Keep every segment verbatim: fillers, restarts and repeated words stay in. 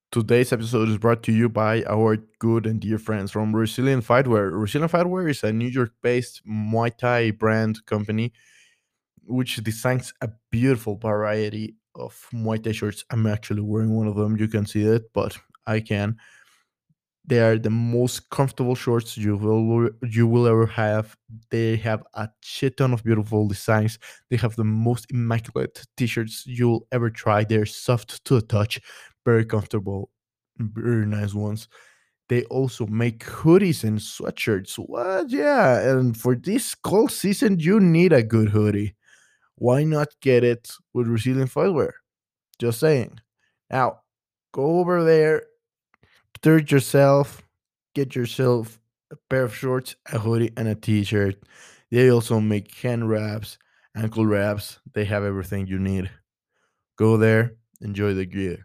Today's episode is brought to you by our good and dear friends from Resilient Fightwear. Resilient Fightwear is a New York based Muay Thai brand company which designs a beautiful variety of Muay Thai shirts. I'm actually wearing one of them. You can see it, but I can. They are the most comfortable shorts you will you will ever have. They have a shit ton of beautiful designs. They have the most immaculate t-shirts you'll ever try. They're soft to the touch, very comfortable, very nice ones. They also make hoodies and sweatshirts. What? Yeah, and for this cold season, you need a good hoodie. Why not get it with Resilient Footwear? Just saying. Now, go over there, treat yourself, get yourself a pair of shorts, a hoodie, and a t-shirt. They also make hand wraps, ankle wraps. They have everything you need. Go there, enjoy the gear.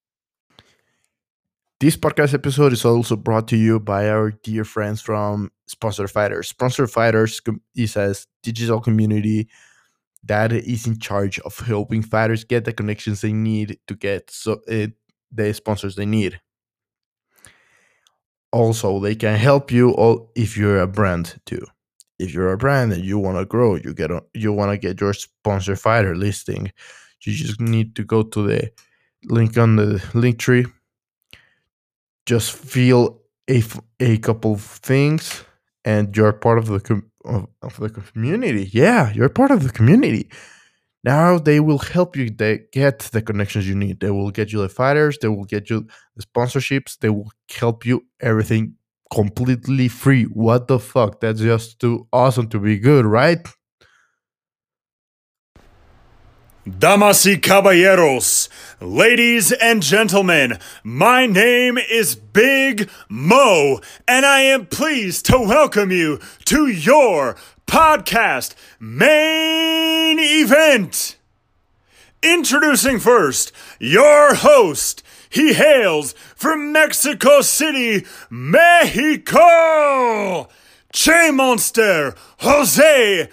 This podcast episode is also brought to you by our dear friends from Sponsor Fighters. Sponsor Fighters com- is a digital community that is in charge of helping fighters get the connections they need to get so uh, the sponsors they need. Also, they can help you all if you're a brand too. If you're a brand and you want to grow, you get a, you want to get your sponsor fighter listing. You just need to go to the link on the link tree. Just fill a, f- a couple of things, and you're part of the com- of, of the community. Yeah, you're part of the community. Now they will help you they get the connections you need. They will get you the fighters, they will get you the sponsorships, they will help you everything completely free. What the fuck? That's just too awesome to be good, right? Damas y caballeros, ladies and gentlemen, my name is Big Mo, and I am pleased to welcome you to your podcast main event. Introducing first, your host. He hails from Mexico City, Mexico. Che Monster, Jose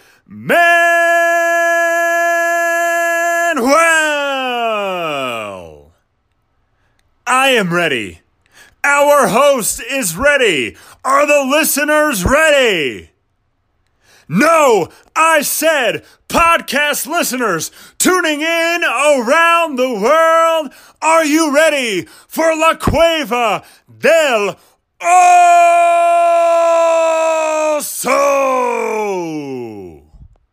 Manuel. I am ready. Our host is ready. Are the listeners ready? No, I said podcast listeners tuning in around the world. Are you ready for La Cueva del Oso?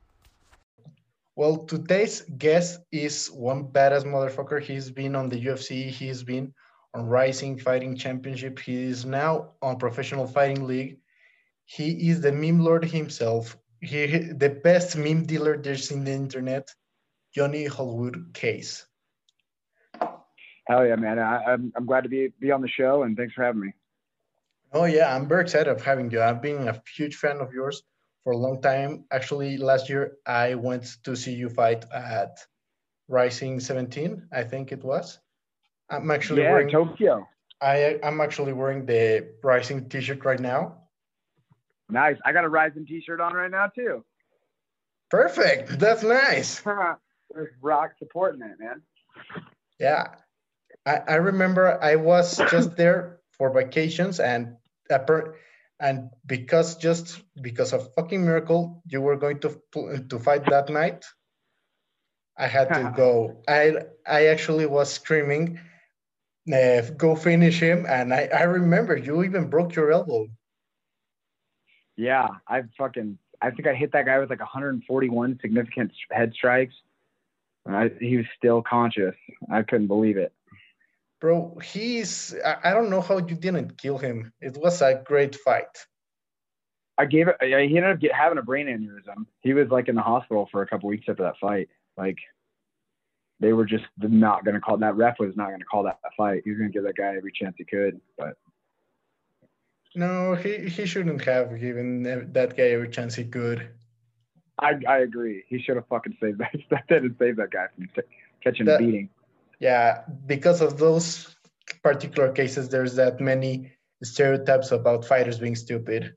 Well, today's guest is one badass motherfucker. He's been on the U F C. He's been on Rising Fighting Championship. He is now on Professional Fighting League. He is the meme lord himself. He the best meme dealer there's in the internet. Johnny Hollywood Case. Hell yeah, man! I, I'm I'm glad to be be on the show, and thanks for having me. Oh yeah, I'm very excited of having you. I've been a huge fan of yours for a long time. Actually, last year I went to see you fight at Rising seventeen, I think it was. I'm actually Yeah, wearing Tokyo. I I'm actually wearing the Rising T-shirt right now. Nice. I got a Rising T-shirt on right now too. Perfect. That's nice. There's Rock supporting it, man. Yeah, I, I remember I was just there for vacations and and because just because of fucking miracle you were going to to fight that night. I had to go. I I actually was screaming, uh, "Go finish him!" And I I remember you even broke your elbow. Yeah, I fucking I think I hit that guy with like one hundred forty-one significant head strikes. And I, he was still conscious. I couldn't believe it. Bro, he's I, I don't know how you didn't kill him. It was a great fight. I gave it. He ended up get, having a brain aneurysm. He was like in the hospital for a couple weeks after that fight. Like they were just not going to call that ref was not going to call that fight. He was going to give that guy every chance he could, but no, he, he shouldn't have given that guy every chance he could. I I agree. He should have fucking saved that. That didn't save that guy from t- catching that, a beating. Yeah, because of those particular cases, there's that many stereotypes about fighters being stupid.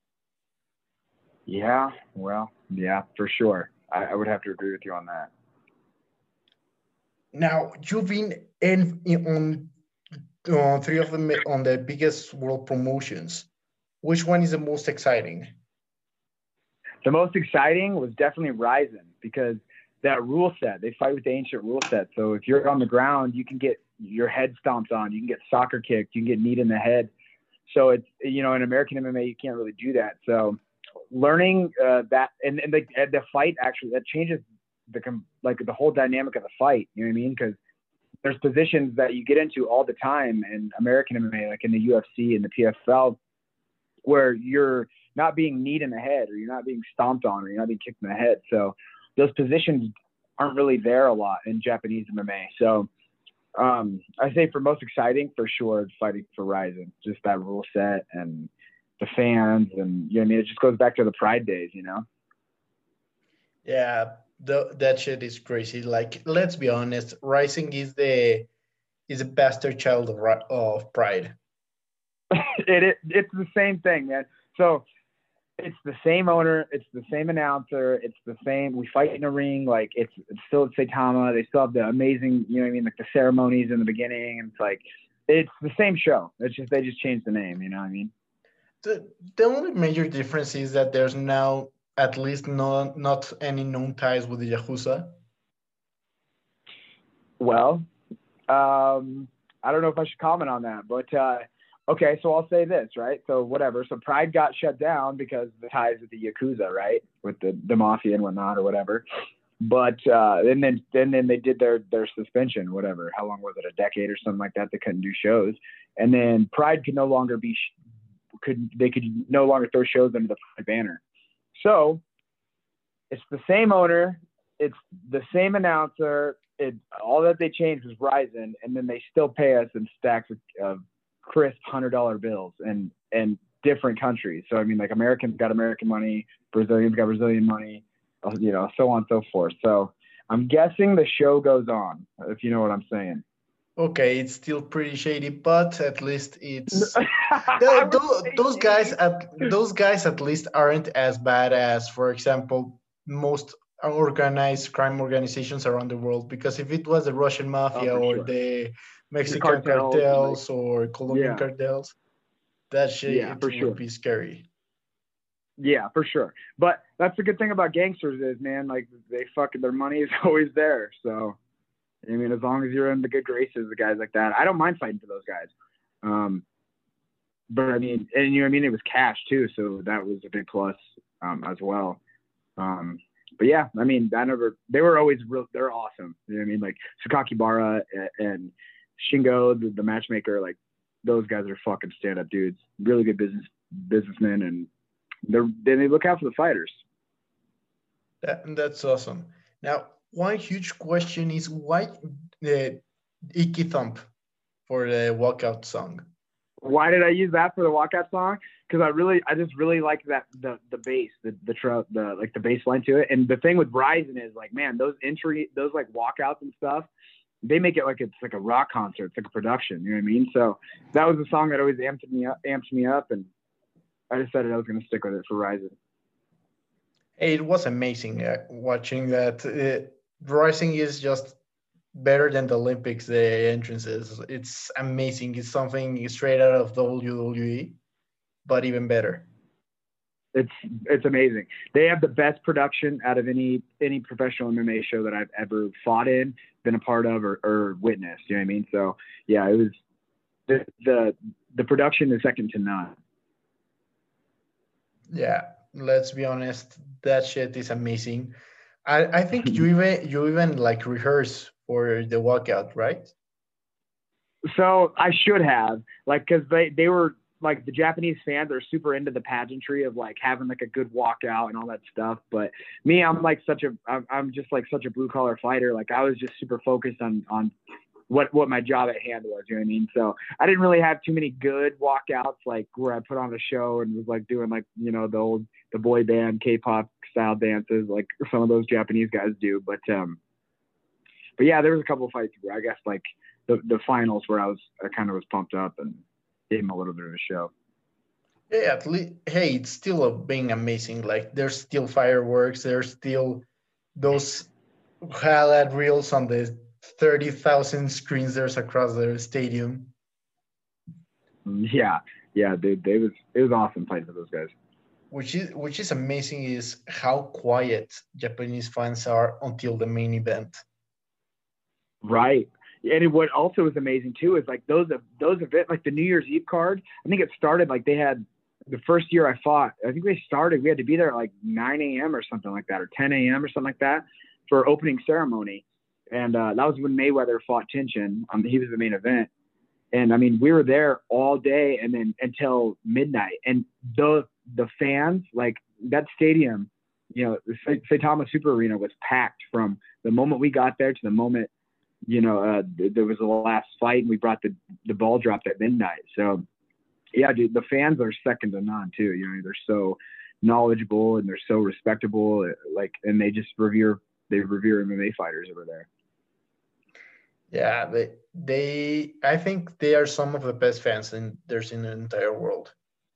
Yeah, well, yeah, for sure. I, I would have to agree with you on that. Now, you've been in, in on uh, three of them on the biggest world promotions. Which one is the most exciting? The most exciting was definitely Ryzen because that rule set, they fight with the ancient rule set. So if you're on the ground, you can get your head stomped on, you can get soccer kicked, you can get kneed in the head. So it's, you know, in American M M A, you can't really do that. So learning uh, that, and, and the, and the fight actually, that changes the, like the whole dynamic of the fight. You know what I mean? Because there's positions that you get into all the time in American M M A, like in the U F C and the P F L, where you're not being kneed in the head or you're not being stomped on or you're not being kicked in the head. So those positions aren't really there a lot in Japanese M M A. So um, I say for most exciting, for sure, it's fighting for Ryzen. Just that rule set and the fans and, you know what I mean? It just goes back to the Pride days, you know? Yeah, the, that shit is crazy. Like, let's be honest, Rising is the is a bastard child of, of Pride. it, it It's the same thing, man. So it's the same owner, it's the same announcer, it's the same. We fight in a ring, like it's, it's still at Saitama. They still have the amazing, you know what I mean, like the ceremonies in the beginning. And it's like it's the same show. It's just they just changed the name. You know what I mean? The the only major difference is that there's now at least no not any known ties with the Yakuza. Well, um, I don't know if I should comment on that, but. Uh, Okay, so I'll say this, right? So whatever. So Pride got shut down because of the ties with the Yakuza, right? With the, the mafia and whatnot or whatever. But uh, and then then then they did their their suspension, whatever. How long was it? A decade or something like that. They couldn't do shows, and then Pride could no longer be could they could no longer throw shows under the Pride banner. So it's the same owner, it's the same announcer. It all that they changed was Ryzen, and then they still pay us in stacks of. of crisp hundred dollar bills and and different countries. So I mean, like Americans got American money, Brazilians got Brazilian money, you know, so on and so forth. So I'm guessing the show goes on, if you know what I'm saying. Okay, it's still pretty shady, but at least it's those, those guys at those guys at least aren't as bad as, for example, most organized crime organizations around the world. Because if it was the Russian mafia oh, or sure. the Mexican the cartels, cartels like, or Colombian yeah. cartels, that shit yeah, it for would sure. be scary. Yeah, for sure. But that's the good thing about gangsters is, man, like they fucking their money is always there. So I mean, as long as you're in the good graces of guys like that, I don't mind fighting for those guys. Um, but I mean, and you know what I mean, it was cash too, so that was a big plus um, as well. Um, But yeah, I mean, I never, they were always real, they're awesome. You know what I mean? Like Sakakibara and, and Shingo, the, the matchmaker, like those guys are fucking stand up dudes, really good business businessmen. And they're, then they look out for the fighters. That, that's awesome. Now, one huge question is why the Icky Thump for the walkout song? Why did I use that for the walkout song? Because I really, I just really like that the the bass, the the tr- the like the bass line to it. And the thing with Ryzen is like, man, those entry, those like walkouts and stuff, they make it like it's like a rock concert, it's like a production. You know what I mean? So that was a song that always amped me up, amped me up, and I decided I was going to stick with it for Ryzen. It was amazing uh, watching that. Uh, Rising is just better than the Olympics, the entrances. It's amazing. It's something straight out of W W E, but even better. It's it's amazing. They have the best production out of any any professional M M A show that I've ever fought in, been a part of, or, or witnessed. You know what I mean? So yeah, it was the the the production is second to none. Yeah, let's be honest. That shit is amazing. I, I think you even you even like rehearse for the walkout, right? So I should have, like, because they, they were like the Japanese fans are super into the pageantry of like having like a good walkout and all that stuff. But me, I'm like such a I'm, I'm just like such a blue collar fighter. Like I was just super focused on on what what my job at hand was. You know what I mean? So I didn't really have too many good walkouts like where I put on a show and was like doing like, you know, the old the boy band K-pop style dances like some of those Japanese guys do. But um, but yeah, there was a couple of fights where I guess like the the finals where I was I kind of was pumped up and gave him a little bit of a show. Yeah, at least, hey, it's still a, being amazing. Like there's still fireworks. There's still those highlight reels on the thirty thousand screens there's across the stadium. Yeah, yeah, dude, they was it was awesome fighting for those guys. Which is which is amazing is how quiet Japanese fans are until the main event. Right. And what also is amazing too is like those those events, like the New Year's Eve card. I think it started like they had the first year I fought. I think they started. We had to be there at like nine a.m. or something like that, or ten a.m. or something like that for opening ceremony. And uh, that was when Mayweather fought Tinchin. Um, he was the main event. And I mean, we were there all day and then until midnight. And the the fans, like that stadium, you know, the Saitama Super Arena was packed from the moment we got there to the moment, you know, uh, th- there was the last fight and we brought the, the ball dropped at midnight. So, yeah, dude, the fans are second to none too. You know, they're so knowledgeable and they're so respectable, like, and they just revere, they revere M M A fighters over there. Yeah, they they I think they are some of the best fans in there's in the entire world.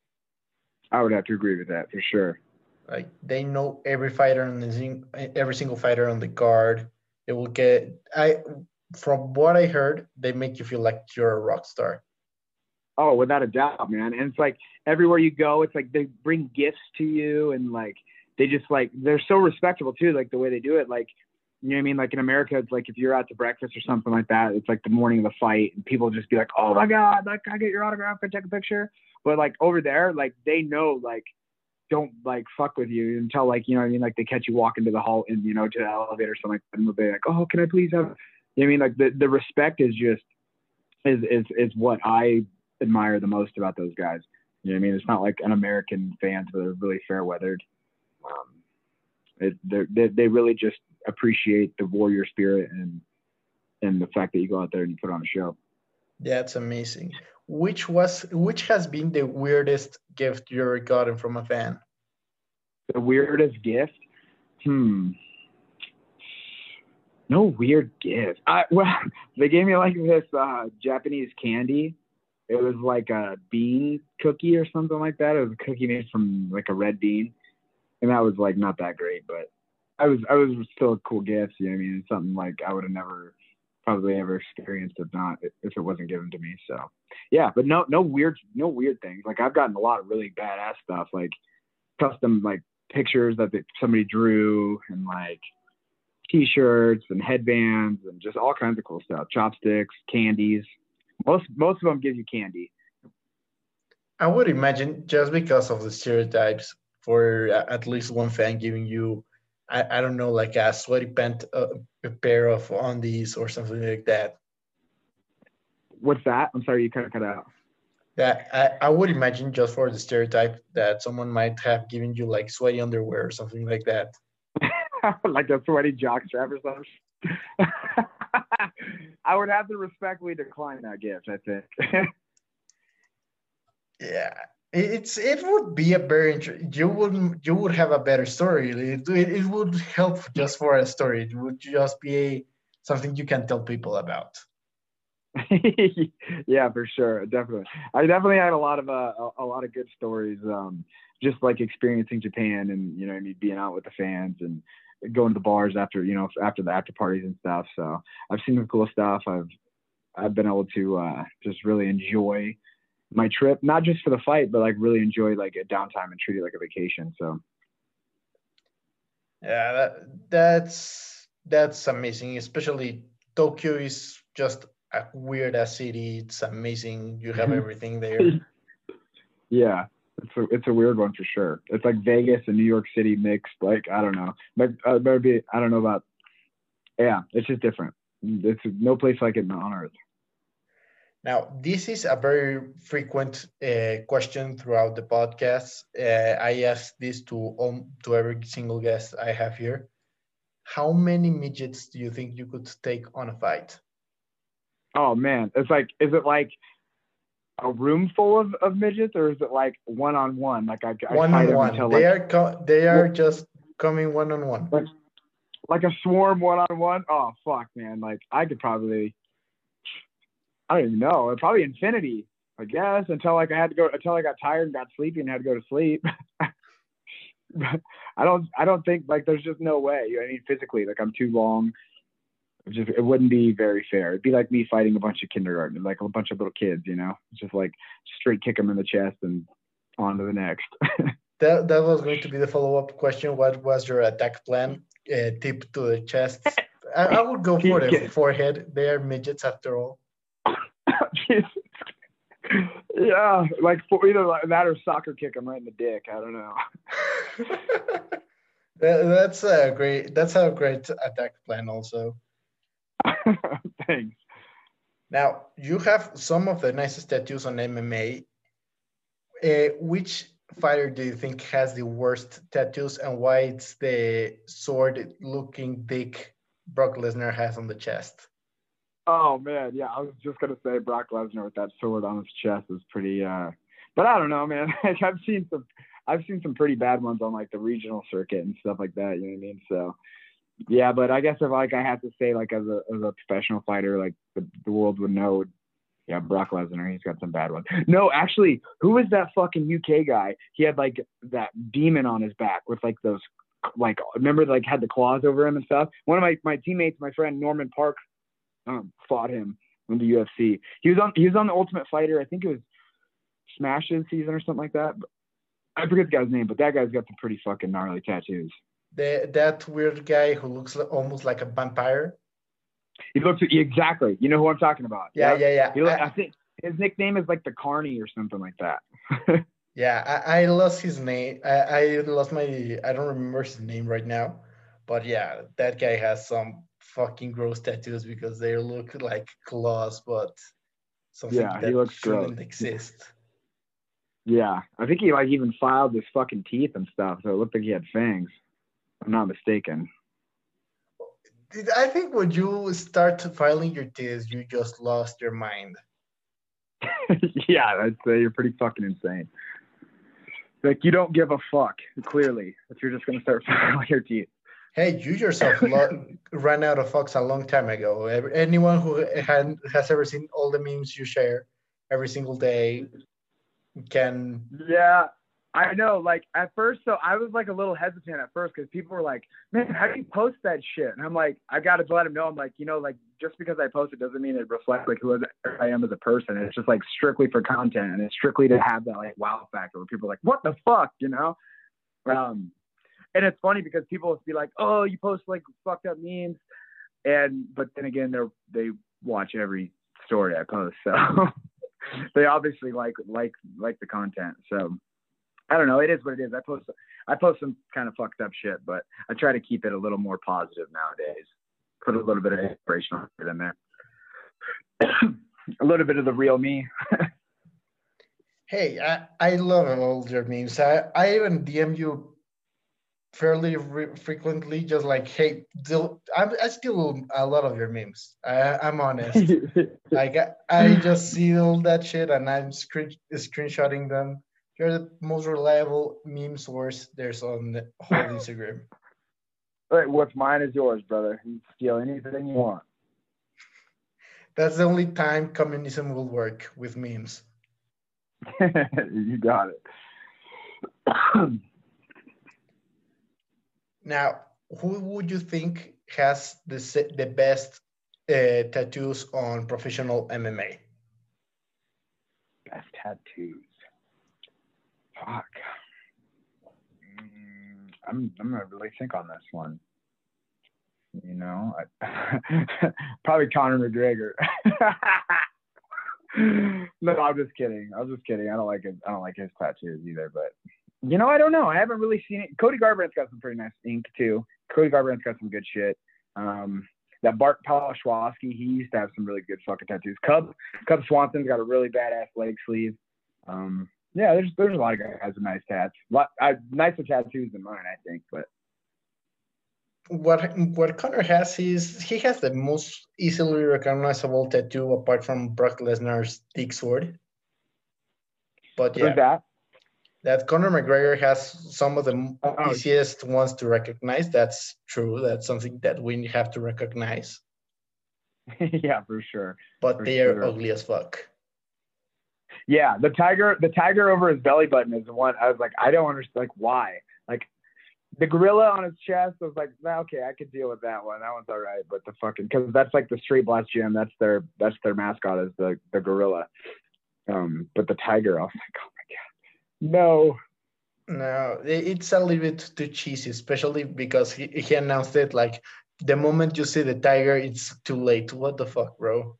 I would have to agree with that for sure. Like they know every fighter on the every single fighter on the card. They will get I from what I heard, they make you feel like you're a rock star. Oh, without a doubt, man. And it's like everywhere you go, it's like they bring gifts to you and like they just like they're so respectable too, like the way they do it. Like, you know what I mean? Like in America, it's like if you're out to breakfast or something like that, it's like the morning of the fight and people just be like, oh my God, like, can I get your autograph? Can I take a picture? But like over there, like they know, like, don't like fuck with you until like, you know what I mean? Like they catch you walking to the hall and, you know, to the elevator or something like that. And they'll be like, oh, can I please have, you know what I mean? Like the, the respect is just, is, is, is what I admire the most about those guys. You know what I mean? It's not like an American fans that are really fair weathered. Um, it, they they really just appreciate the warrior spirit and and the fact that you go out there and you put on a show. That's amazing. Which was which has been the weirdest gift you ever gotten from a fan? The weirdest gift? Hmm. No weird gift. I well, they gave me like this uh, Japanese candy. It was like a bean cookie or something like that. It was a cookie made from like a red bean. And that was like not that great, but I was I was still a cool gift. You know what I mean? It's something like I would have never probably ever experienced if not if it wasn't given to me. So yeah, but no no weird no weird things. Like I've gotten a lot of really badass stuff, like custom like pictures that they, somebody drew and like t-shirts and headbands and just all kinds of cool stuff. Chopsticks, candies. Most most of them give you candy. I would imagine just because of the stereotypes for at least one fan giving you, I, I don't know, like a sweaty pant, uh, a pair of undies or something like that. What's that? I'm sorry, you kind of cut out. That I, I would imagine just for the stereotype that someone might have given you like sweaty underwear or something like that. Like a sweaty jockstrap or something. I would have to respectfully decline that gift, I think. Yeah, it's it would be a very int- you would you would have a better story. It, it, it would help just for a story. It would just be a, something you can tell people about. Yeah, for sure, definitely. I definitely had a lot of uh, a, a lot of good stories. Um, just like experiencing Japan and you know, I mean, being out with the fans and going to the bars after you know after the after parties and stuff. So I've seen some cool stuff. I've I've been able to uh, just really enjoy my trip, not just for the fight, but like really enjoy like a downtime and treat it like a vacation. So Yeah, that, that's that's amazing. Especially Tokyo is just a weird ass city. It's amazing. You have everything there. yeah, it's a, it's a weird one for sure. It's like Vegas and New York City mixed. Like, I don't know, but uh, maybe, I don't know about, yeah, it's just different. It's no place like it on earth. Now, this is a very frequent uh, question throughout the podcast. Uh, I ask this to um, to every single guest I have here. How many midgets do you think you could take on a fight? Oh man, it's like, is it like a room full of, of midgets, or is it like one on one? Like I, I One fight on them one. until They like are co- they are well, just coming one on one. like, like a swarm one on one. Oh fuck, man! Like I could probably. I don't even know. Probably infinity, I guess, until like I had to go until I got tired and got sleepy and had to go to sleep. I don't I don't think like there's just no way. You know, I mean physically, like I'm too long. It just it wouldn't be very fair. It'd be like me fighting a bunch of kindergarten, like a bunch of little kids, you know, just like straight kick them in the chest and on to the next. That that was going to be the follow up question. What was your attack plan? Uh, tip to the chest. I, I would go for the forehead. They are midgets after all. Yeah, like for either like that or soccer kick them right in the dick. I don't know. that, that's a great. That's a great attack plan, also. Thanks. Now you have some of the nicest tattoos on M M A. Uh, which fighter do you think has the worst tattoos, and why it's the sword-looking dick Brock Lesnar has on the chest? Oh man, yeah, I was just gonna say Brock Lesnar with that sword on his chest is pretty. uh But I don't know, man. I've seen some, I've seen some pretty bad ones on like the regional circuit and stuff like that. You know what I mean? So yeah, but I guess if like I have to say like as a as a professional fighter, like the, the world would know. Yeah, Brock Lesnar, he's got some bad ones. No, actually, who was that fucking U K guy? He had like that demon on his back with like those, like, remember like had the claws over him and stuff? One of my, my teammates, my friend Norman Park, um, fought him in the U F C. He was on he was on the Ultimate Fighter. I think it was Smash's season or something like that. I forget the guy's name, but that guy's got some pretty fucking gnarly tattoos. The, that weird guy who looks almost like a vampire. He looks exactly. You know who I'm talking about? Yeah, yeah, yeah. He look, I, I think his nickname is like the Carney or something like that. Yeah, I, I lost his name. I, I lost my. I don't remember his name right now, but yeah, that guy has some fucking gross tattoos because they look like claws, but something yeah, that he looks shouldn't gross. exist. Yeah, I think he like even filed his fucking teeth and stuff, so it looked like he had fangs. If I'm not mistaken. I think when you start filing your teeth, you just lost your mind. Yeah, I'd say you're pretty fucking insane. Like, you don't give a fuck, clearly, if you're just going to start filing your teeth. Hey, you yourself lo- ran out of fucks a long time ago. Anyone who had, has ever seen all the memes you share every single day can... Yeah, I know. Like, at first, so I was, like, a little hesitant at first because people were like, man, how do you post that shit? And I'm like, I got to let them know. I'm like, you know, like, just because I post it doesn't mean it reflects, like, who I am as a person. It's just, like, strictly for content. And it's strictly to have that, like, wow factor where people are like, what the fuck, you know? Um, and it's funny because people will be like, oh, you post, like, fucked up memes. And, but then again, they're, they watch every story I post. So they obviously like, like, like the content. So I don't know. It is what it is. I post, I post some kind of fucked up shit, but I try to keep it a little more positive nowadays. Put a little bit of inspirational shit in there. A little bit of the real me. Hey, I, I love all your memes. I, I even D M you fairly re- frequently, just like, hey, do, I, I steal a lot of your memes. I, I'm honest. Like, I, I just see all that shit and I'm screen, screenshotting them. You're the most reliable meme source there's on the whole Instagram. Right, what's mine is yours, brother. You can steal anything you want. That's the only time communism will work, with memes. You got it. Now, who would you think has the the best uh, tattoos on professional M M A? Best tattoos. Fuck. Mm, I'm I'm gonna really think on this one. You know, I, probably Conor McGregor. No, I'm just kidding. I was just kidding. I don't like it. I don't like his tattoos either. But you know, I don't know. I haven't really seen it. Cody Garbrandt's got some pretty nice ink too. Cody Garbrandt's got some good shit. Um, that Bart Palashwowski, he used to have some really good fucking tattoos. Cub Cub Swanson's got a really badass leg sleeve. Um, yeah, there's there's a lot of guys with nice tats. Lot, I, nicer tattoos than mine, I think. But what what Conor has is he has the most easily recognizable tattoo apart from Brock Lesnar's dick sword. But yeah, that that Conor McGregor has some of the oh, easiest ones to recognize. That's true. That's something that we have to recognize. Yeah, for sure. But for they are sure. ugly as fuck. Yeah, the tiger, the tiger over his belly button is the one I was like, I don't understand, like why? Like, The gorilla on his chest, I was like, nah, okay, I could deal with that one. That one's all right. But the fucking, because that's like the Straight Blast Gym. That's their that's their mascot is the the gorilla. Um, but the tiger, I was like, oh my god, no. No, i- it's a little bit too cheesy, especially because he, he announced it like the moment you see the tiger, it's too late. What the fuck, bro?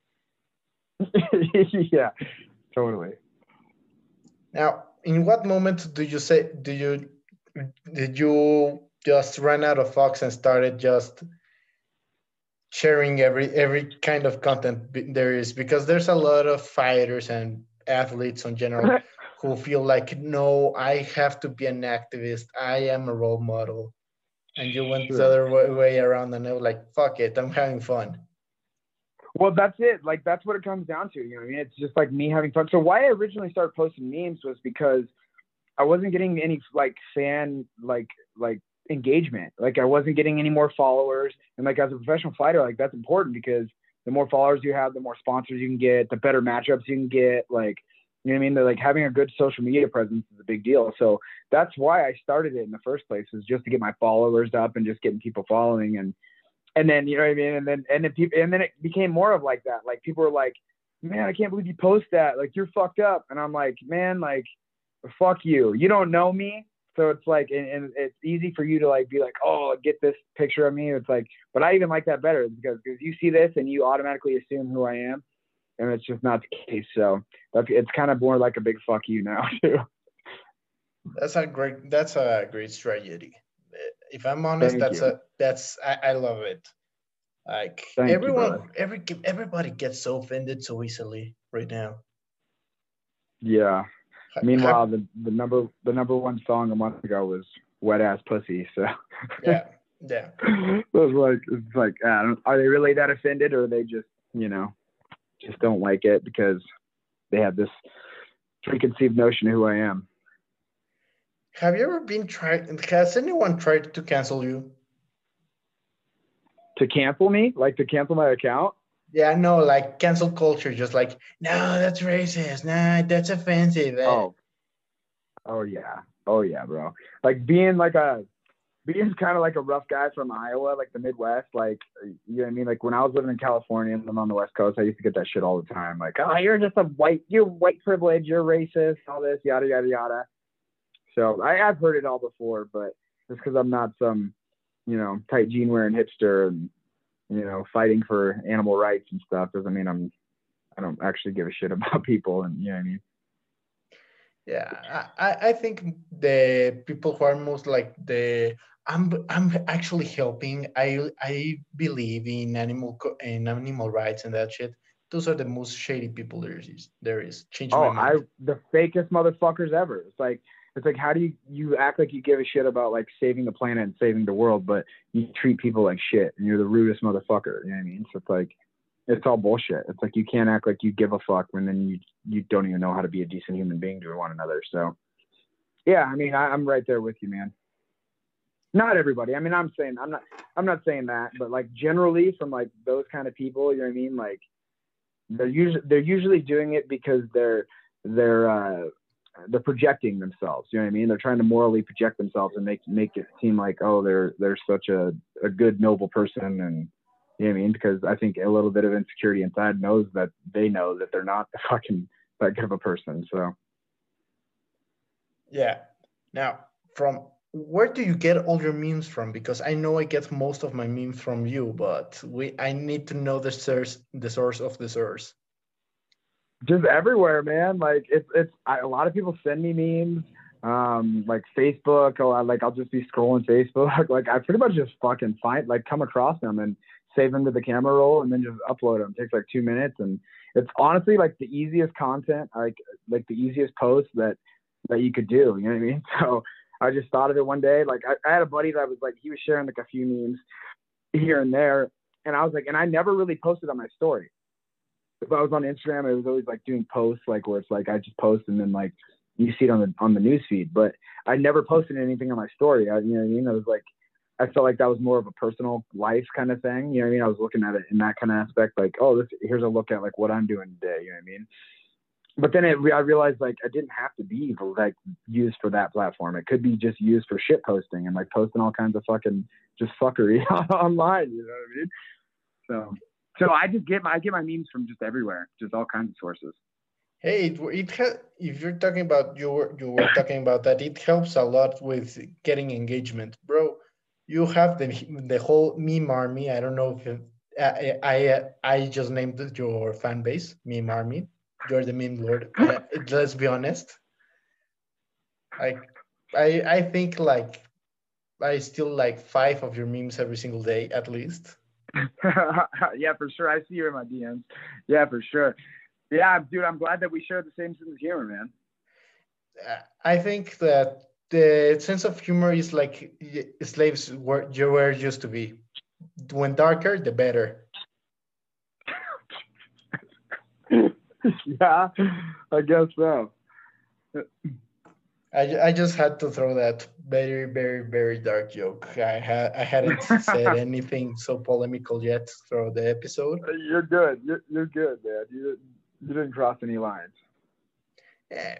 Yeah, totally. Now, in what moment do you say do you did you just run out of Fox and started just sharing every every kind of content b- there is? Because there's a lot of fighters and athletes in general who feel like, no, I have to be an activist. I am a role model. And you went the Sure. other way, way around, and I was like, fuck it, I'm having fun. Well, that's it. Like, that's what it comes down to. You know what I mean? It's just like me having fun. So why I originally started posting memes was because I wasn't getting any like fan like like engagement. Like I wasn't getting any more followers. And like as a professional fighter, like that's important because the more followers you have, the more sponsors you can get, the better matchups you can get. Like, you know what I mean? They're like having a good social media presence is a big deal. So that's why I started it in the first place, was just to get my followers up and just getting people following. And and then, you know what I mean? And then and then people and then it became more of like that. Like people were like, man, I can't believe you post that. Like you're fucked up. And I'm like, man, like fuck you. You don't know me. So it's like, and, and it's easy for you to like be like, oh, get this picture of me. It's like, but I even like that better because because you see this and you automatically assume who I am, and it's just not the case. So that's it's kind of more like a big fuck you now too. That's a great. That's a great strategy. If I'm honest, Thank that's you. a that's I, I love it. Like Thank you, brother. everyone, every everybody gets so offended so easily right now. Yeah. Ha- Meanwhile, have- the, the number the number one song a month ago was "Wet Ass Pussy." So yeah, yeah. it was like it's like I don't, are they really that offended, or are they just you know just don't like it because they have this preconceived notion of who I am? Have you ever been tried? Has anyone tried to cancel you? To cancel me, like to cancel my account. Yeah, no, like cancel culture, just like, no, that's racist. Nah, that's offensive. Eh, Oh, oh yeah, oh yeah, bro. Like being like a being kind of like a rough guy from Iowa, like the Midwest, like you know what I mean. Like when I was living in California and I'm on the West Coast, I used to get that shit all the time. Like, oh, you're just a white, you're white privilege, you're racist, all this, yada yada yada. So I, I've heard it all before, but just because I'm not some, you know, tight jean wearing hipster and you know fighting for animal rights and stuff doesn't mean I'm I don't actually give a shit about people, and you know what I mean. yeah, I, I I think the people who are most like the I'm I'm actually helping. I I believe in animal co- in animal rights and that shit. Those are the most shady people there is. There is. Change my Oh, I mind. the fakest motherfuckers ever. It's like it's like how do you you act like you give a shit about like saving the planet and saving the world, but you treat people like shit and you're the rudest motherfucker. You know what I mean? So it's like it's all bullshit. It's like you can't act like you give a fuck when then you you don't even know how to be a decent human being to one another. So yeah, I mean I, I'm right there with you, man. Not everybody. I mean I'm saying I'm not I'm not saying that, but like generally from like those kind of people, you know what I mean? Like they're usually they're usually doing it because they're they're uh, they're projecting themselves. You know what I mean? They're trying to morally project themselves and make make it seem like oh they're they're such a, a good noble person, and you know what I mean? Because I think a little bit of insecurity inside knows that they know that they're not fucking that good of a person. So Yeah. Now, from where do you get all your memes from? Because I know I get most of my memes from you, but we I need to know the source the source of the source. just everywhere, man. Like it's it's I, a lot of people send me memes. Um, like Facebook, or I, like I'll just be scrolling Facebook. Like I pretty much just fucking find like come across them and save them to the camera roll and then just upload them. It takes like two minutes and it's honestly like the easiest content, like like the easiest post that that you could do. You know what I mean? So I just thought of it one day. Like I, I had a buddy that was like he was sharing like a few memes here and there, and I was like, and I never really posted on my story. If I was on Instagram, it was always like doing posts, like where it's like I just post and then like you see it on the on the news feed. But I never posted anything on my story. I, you know what I mean? I was like, I felt like that was more of a personal life kind of thing. You know what I mean? I was looking at it in that kind of aspect, like, oh, this here's a look at like what I'm doing today. You know what I mean? but then it, I realized like it didn't have to be like used for that platform. It could be just used for shit posting and like posting all kinds of fucking just fuckery online. You know what I mean? So, so I just get my I get my memes from just everywhere, just all kinds of sources. Hey, it, it ha- if you're talking about you were you were talking about that, it helps a lot with getting engagement, bro. You have the the whole meme army. I don't know if it, I I I just named your fan base meme army. You're the meme lord. Uh, let's be honest. Like I I think like I still like five of your memes every single day at least. Yeah, for sure. I see you in my D Ms. Yeah, for sure. Yeah, dude, I'm glad that we share the same sense of humor, man. I think that the sense of humor is like slaves were you were used to be. When darker, the better. Yeah, I guess so. I, I just had to throw that very very very dark joke. I had I hadn't said anything so polemical yet through the episode. You're good. You're, you're good, man. You didn't, you didn't cross any lines. Yeah.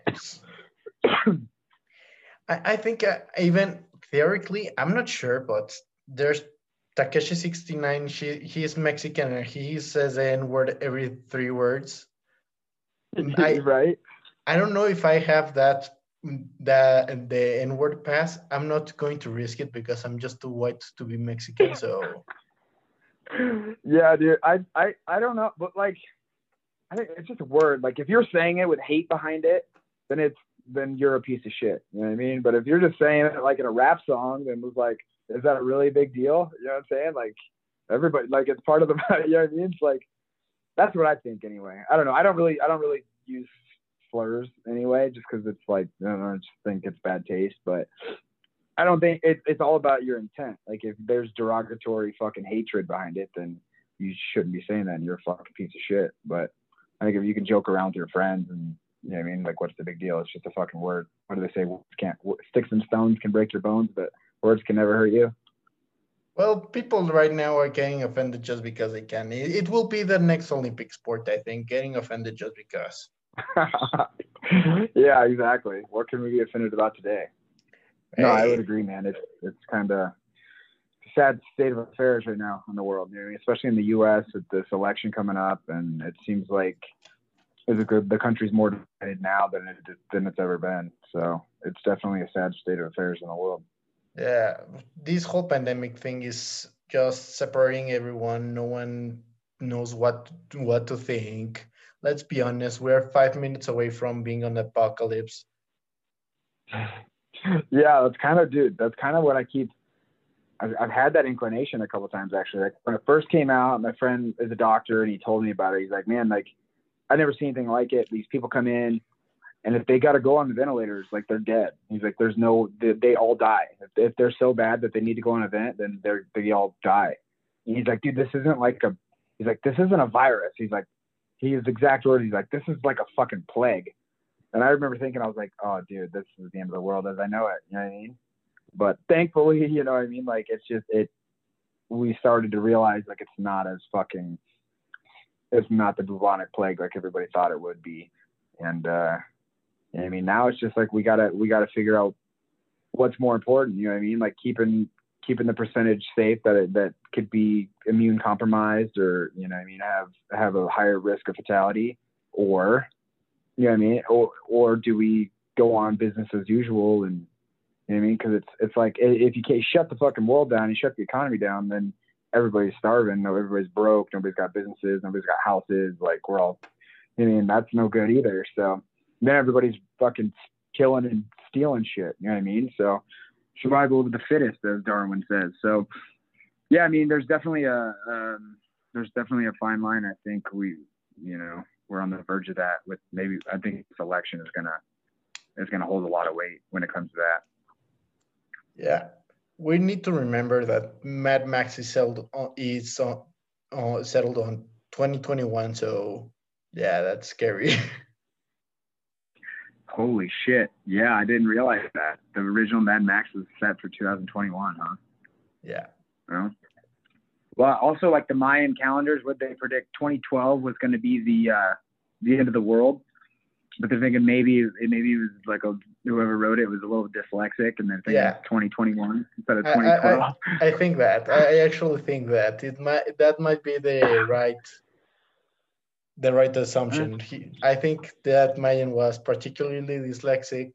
I, I think uh, even theoretically, I'm not sure, but there's Takeshi sixty-nine. He he's Mexican and he says the N word every three words. I Right? I don't know if I have that the the N word pass. I'm not going to risk it because I'm just too white to be Mexican. So Yeah, dude. I I I don't know, but like, I think it's just a word. Like, if you're saying it with hate behind it, then it's then you're a piece of shit. You know what I mean? But if you're just saying it like in a rap song, then it's like, is that a really big deal? You know what I'm saying? Like, everybody, like, it's part of the, you know what I mean? It's like, that's what I think anyway. I don't know. I don't really, I don't really use slurs anyway, just because it's like, I don't know, I just think it's bad taste. But I don't think it, it's all about your intent. Like, if there's derogatory fucking hatred behind it, then you shouldn't be saying that, and you're a fucking piece of shit. But I think if you can joke around with your friends and, you know what I mean? Like, what's the big deal? It's just a fucking word. What do they say? Words can't, sticks and stones can break your bones, but words can never hurt you. well, people right now are getting offended just because they can. It, it will be the next Olympic sport, I think, getting offended just because. Yeah, exactly. What can we be offended about today? No, I would Hey, agree, man. It's it's kind of a sad state of affairs right now in the world, you know, especially in the U S with this election coming up, and it seems like it's good, the country's more divided now than it than it's ever been. So it's definitely a sad state of affairs in the world. yeah, this whole pandemic thing is just separating everyone. No one knows what what to think. Let's be honest, we're five minutes away from being on apocalypse. Yeah, that's kind of, dude. That's kind of what I keep. I've, I've had that inclination a couple of times actually. Like when it first came out, my friend is a doctor and he told me about it. He's like, man, like I never seen anything like it. These people come in, and if they got to go on the ventilators, like they're dead. He's like, there's no, they, they all die. If, if they're so bad that they need to go on a vent, then they're, they all die. And he's like, dude, this isn't like a, he's like, this isn't a virus. He's like, he used exact words. He's like, this is like a fucking plague. And I remember thinking, I was like, oh, dude, this is the end of the world as I know it. You know what I mean? But thankfully, you know what I mean? Like, it's just, it, we started to realize like it's not as fucking, it's not the bubonic plague like everybody thought it would be. And, uh, I mean, now it's just like we gotta we gotta figure out what's more important. You know what I mean? Like keeping keeping the percentage safe that it, that could be immune compromised, or you know what I mean, have have a higher risk of fatality, or you know what I mean, or or do we go on business as usual? And you know what I mean, because it's it's like if you can't shut the fucking world down, you shut the economy down, then everybody's starving, everybody's broke, nobody's got businesses, nobody's got houses. Like we're all, you know, I mean, that's no good either. So. Then everybody's fucking killing and stealing shit. You know what I mean? So survival of the fittest, as Darwin says. So yeah, I mean, there's definitely a um, there's definitely a fine line. I think we, you know, we're on the verge of that. With maybe I think this election is gonna is gonna hold a lot of weight when it comes to that. Yeah, we need to remember that Mad Max is settled on, is on, uh, settled on twenty twenty-one. So yeah, that's scary. Holy shit! Yeah, I didn't realize that the original Mad Max was set for two thousand twenty-one, huh? Yeah. Well, well, also like the Mayan calendars, what they predict twenty twelve was going to be the uh, the end of the world, but they're thinking maybe it maybe it was like a whoever wrote it was a little dyslexic, and then thinking Yeah. twenty twenty-one instead of I, twenty I, twelve. I, I think that. I I actually think that it might that might be the right the right assumption. He, I think that Mayan was particularly dyslexic.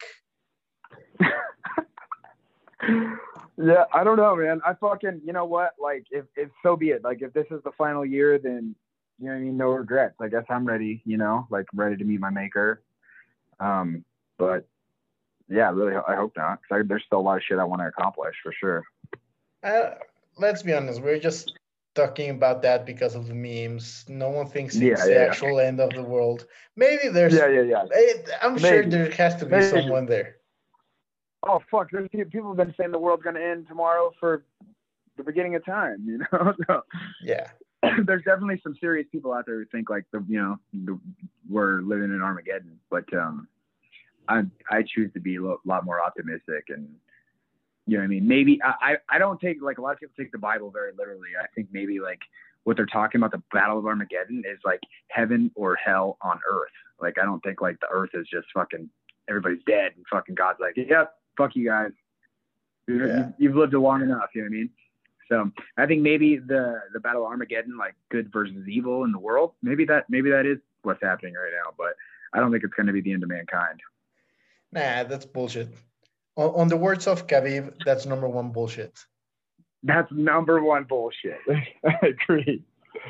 Yeah, I don't know, man. I fucking, you know what? Like, if, if so be it. Like, if this is the final year, then, you know what I mean? No regrets. I guess I'm ready, you know, like ready to meet my maker. Um, but yeah, really, I hope not. Cause I, there's still a lot of shit I want to accomplish for sure. Uh, let's be honest, we're just talking about that because of the memes. No one thinks Yeah, it's the yeah, yeah. actual end of the world. Maybe there's. Yeah, yeah, yeah. It, I'm sure Maybe. there has to be Maybe. someone there. Oh, fuck. There's pe- people have been saying the world's going to end tomorrow for the beginning of time, you know? So Yeah. there's definitely some serious people out there who think like the, you know, the, we're living in Armageddon, but um, I I choose to be a lo- lot more optimistic, and you know what I mean. Maybe I, I I don't take, like, a lot of people take the Bible very literally. I think maybe like what they're talking about, the Battle of Armageddon, is like heaven or hell on earth. Like, I don't think like the earth is just fucking everybody's dead and fucking God's like, yep, fuck you guys. You, Yeah. You've lived it long enough. You know what I mean? So I think maybe the the Battle of Armageddon, like good versus evil in the world, maybe that maybe that is what's happening right now. But I don't think it's going to be the end of mankind. Nah, that's bullshit. On, on the words of Khabib, that's number one bullshit. That's number one bullshit. I agree.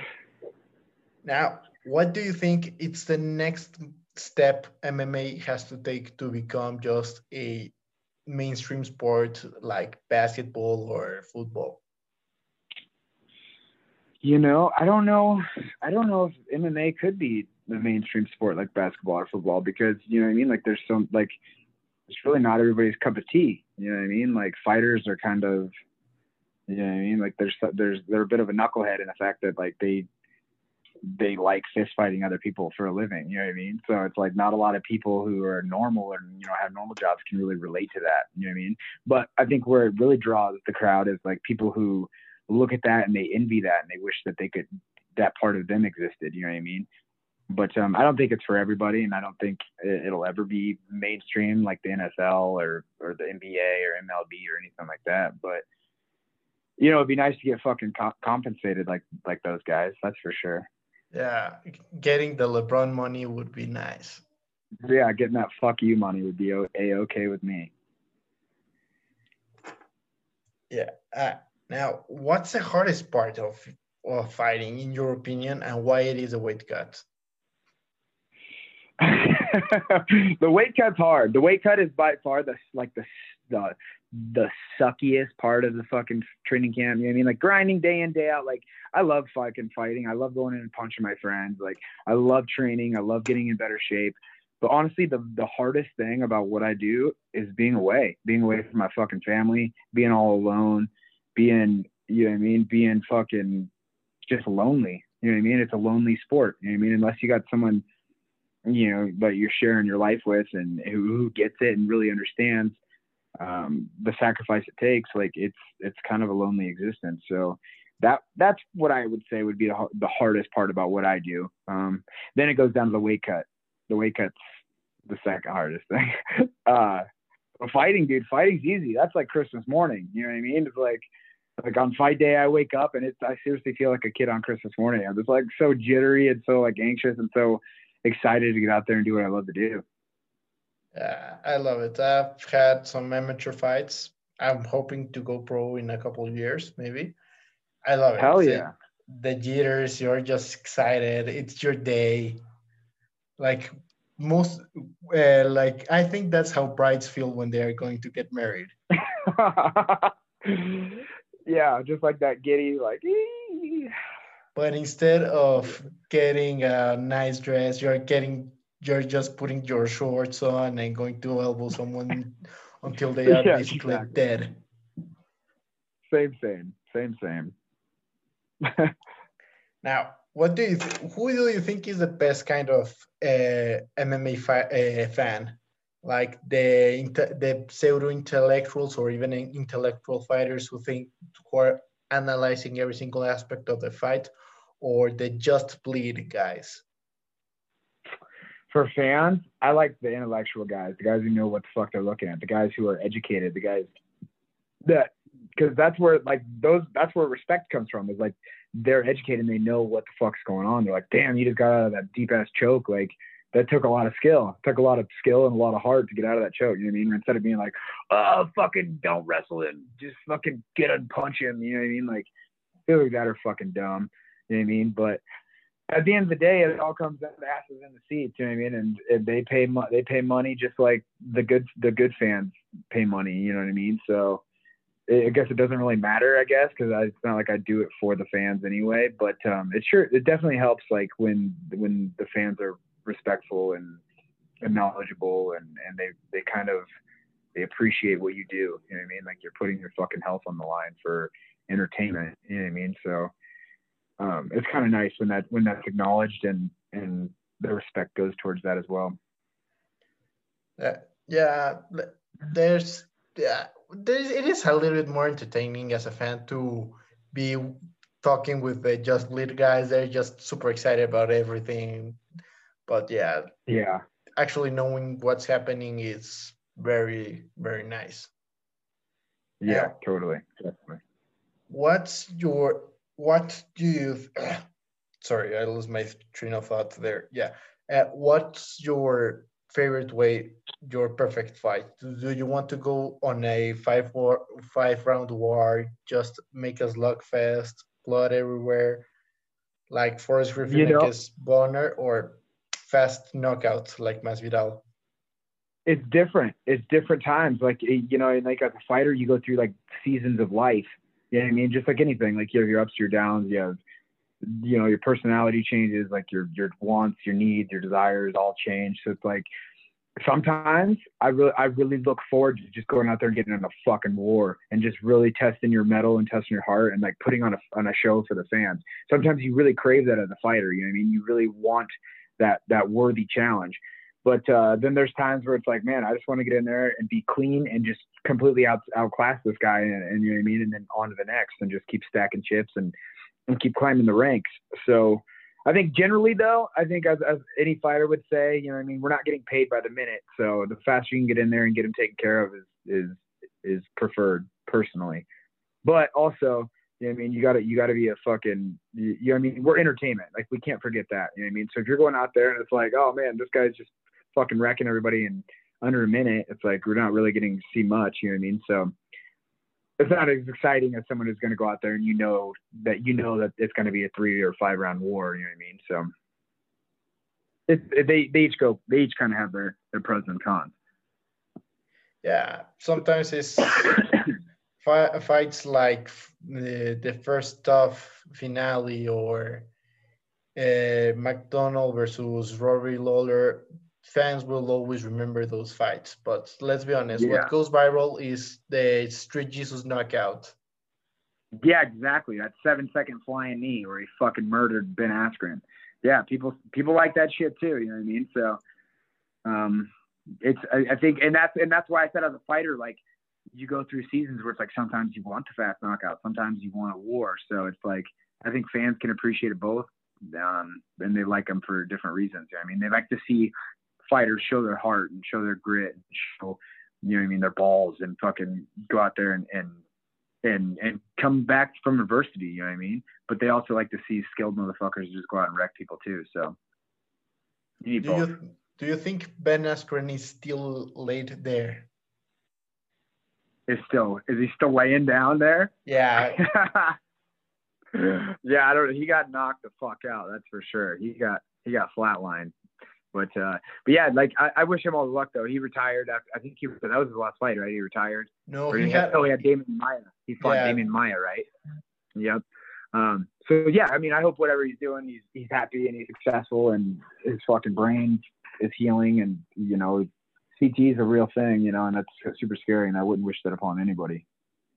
Now, what do you think it's the next step M M A has to take to become just a mainstream sport like basketball or football? You know, I don't know. I don't know if M M A could be the mainstream sport like basketball or football, because, you know what I mean? Like, there's some, like, it's really not everybody's cup of tea. You know what I mean? Like, fighters are kind of, you know what I mean? Like, there's, there's, they're a bit of a knucklehead in the fact that, like, they, they like fist fighting other people for a living. You know what I mean? So it's like not a lot of people who are normal and, you know, have normal jobs can really relate to that. You know what I mean? But I think where it really draws the crowd is like people who look at that and they envy that and they wish that they could, that part of them existed. You know what I mean? But um, I don't think it's for everybody, and I don't think it'll ever be mainstream like the N F L or or the N B A or M L B or anything like that. But, you know, it'd be nice to get fucking co- compensated like like those guys. That's for sure. Yeah, getting the LeBron money would be nice. Yeah, getting that fuck you money would be a-okay with me. Yeah. Uh, now, what's the hardest part of, of fighting, in your opinion, and why it is a weight cut? The weight cut's hard. The weight cut is by far the like the the the suckiest part of the fucking training camp. You know what I mean? Like grinding day in, day out. Like I love fucking fighting. I love going in and punching my friends. Like I love training. I love getting in better shape. But honestly, the the hardest thing about what I do is being away, being away from my fucking family, being all alone, being, you know what I mean? Being fucking just lonely. You know what I mean? It's a lonely sport. You know what I mean? Unless you got someone, you know, that you're sharing your life with and who, who gets it and really understands um, the sacrifice it takes. Like it's, it's kind of a lonely existence. So that, that's what I would say would be the, the hardest part about what I do. Um, then it goes down to the weight cut. The weight cut's the second hardest thing. uh, fighting, dude, fighting's easy. That's like Christmas morning. You know what I mean? It's like, like on fight day, I wake up and it's, I seriously feel like a kid on Christmas morning. I'm just like so jittery and so like anxious and so excited to get out there and do what I love to do. Yeah, I love it. I've had some amateur fights. I'm hoping to go pro in a couple of years, maybe. I love it. Hell The- yeah. The jitters, you're just excited. It's your day. Like most, uh, like I think that's how brides feel when they are going to get married. Yeah, just like that giddy, like. Ee. But instead of getting a nice dress, you're getting, you're just putting your shorts on and going to elbow someone until they are Yeah, basically exactly. dead. Same, same, same, same. Now, what do you th- who do you think is the best kind of uh, M M A fi- uh, fan? Like the inte- the pseudo intellectuals or even in- intellectual fighters who think who are analyzing every single aspect of the fight, or the just bleed guys? For fans, I like the intellectual guys, the guys who know what the fuck they're looking at, the guys who are educated, the guys that, because that's where like those that's where respect comes from. Is like they're educated and they know what the fuck's going on. They're like, damn, you just got out of that deep ass choke. Like that took a lot of skill. It took a lot of skill and a lot of heart to get out of that choke. You know what I mean? Instead of being like, oh, fucking don't wrestle him, just fucking get and punch him. You know what I mean? Like, feel like that are fucking dumb. You know what I mean? But at the end of the day, it all comes down to asses in the seats. You know what I mean? And, and they pay mo- they pay money just like the good the good fans pay money. You know what I mean? So I guess it doesn't really matter. I guess because it's not like I do it for the fans anyway. But um, it sure it definitely helps like when when the fans are respectful and, and knowledgeable and, and they they kind of they appreciate what you do. You know what I mean? Like you're putting your fucking health on the line for entertainment. You know what I mean? So. Um, it's kind of nice when that when that's acknowledged and and the respect goes towards that as well. Uh, yeah, there's yeah, there's it is a little bit more entertaining as a fan to be talking with the just lead guys. They're just super excited about everything, but yeah, yeah, actually knowing what's happening is very very nice. Yeah, uh, totally, definitely. What's your what do you sorry, I lost my train of thought there. Yeah. Uh, what's your favorite way, your perfect fight? Do, do you want to go on a five war, five round war, just make a slugfest, blood everywhere, like Forrest Griffin You know, against Bonner, or fast knockout like Masvidal? it's different. It's different times. Like you know, like as a fighter, you go through like seasons of life. You know what I mean? Just like anything, like you have your ups, your downs. You have, you know, your personality changes, like your your wants, your needs, your desires all change. So it's like sometimes I really I really look forward to just going out there and getting in a fucking war and just really testing your mettle and testing your heart and like putting on a on a show for the fans. Sometimes you really crave that as a fighter. You know what I mean? You really want that that worthy challenge. But uh, then there's times where it's like, man, I just want to get in there and be clean and just completely out outclass this guy, and, and you know what I mean, and then on to the next, and just keep stacking chips and, and keep climbing the ranks. So I think generally, though, I think as, as any fighter would say, you know what I mean, we're not getting paid by the minute. So the faster you can get in there and get them taken care of is is is preferred personally. But also, you know what I mean, you gotta you gotta be a fucking you, you know what I mean, we're entertainment. Like we can't forget that. You know what I mean? So if you're going out there and it's like, oh man, this guy's just fucking wrecking everybody in under a minute, it's like we're not really getting to see much, you know what I mean? So it's not as exciting as someone who's going to go out there and you know that you know that it's going to be a three or five round war, you know what I mean? So it, it, they they each go they each kind of have their their pros and cons. Yeah, sometimes it's fi- fights like the, the first tough finale or uh, McDonald versus Rory Lawler. Fans will always remember those fights. But let's be honest, Yeah. what goes viral is the Street Jesus knockout. Yeah, exactly. That seven second flying knee where he fucking murdered Ben Askren. Yeah, people people like that shit too. You know what I mean? So, um, it's I, I think, and that's and that's why I said as a fighter, like you go through seasons where it's like sometimes you want the fast knockout, sometimes you want a war. So it's like I think fans can appreciate it both, um, and they like them for different reasons. You know what I mean? They like to see fighters show their heart and show their grit and show, you know what I mean, their balls and fucking go out there and, and, and, and come back from adversity, you know what I mean? But they also like to see skilled motherfuckers just go out and wreck people too. So you need do both. you do you think Ben Askren is still laid there? Is still, is he still laying down there? Yeah. Yeah, I don't know. He got knocked the fuck out. That's for sure. He got, he got flatlined. But uh, but yeah, like I, I wish him all the luck though. He retired after, I think he that was his last fight, right? He retired. No, or he, he had, had oh he had Damon Maya. He fought yeah. Damon Maya, right? Yep. Um, so yeah, I mean, I hope whatever he's doing, he's he's happy and he's successful, and his fucking brain is healing, and you know, C T is a real thing, you know, and that's super scary, and I wouldn't wish that upon anybody.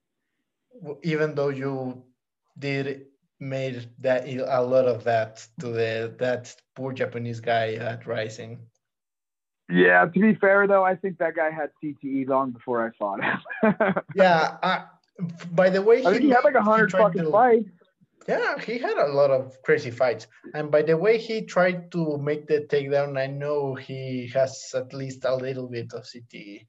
Even though you did made that a lot of that to the that poor Japanese guy at Rising. Yeah, to be fair though, I think that guy had C T E long before I fought him. Yeah, I, by the way, I think he had like a hundred fucking to, fights. Yeah, he had a lot of crazy fights. And by the way he tried to make the takedown, I know he has at least a little bit of C T E.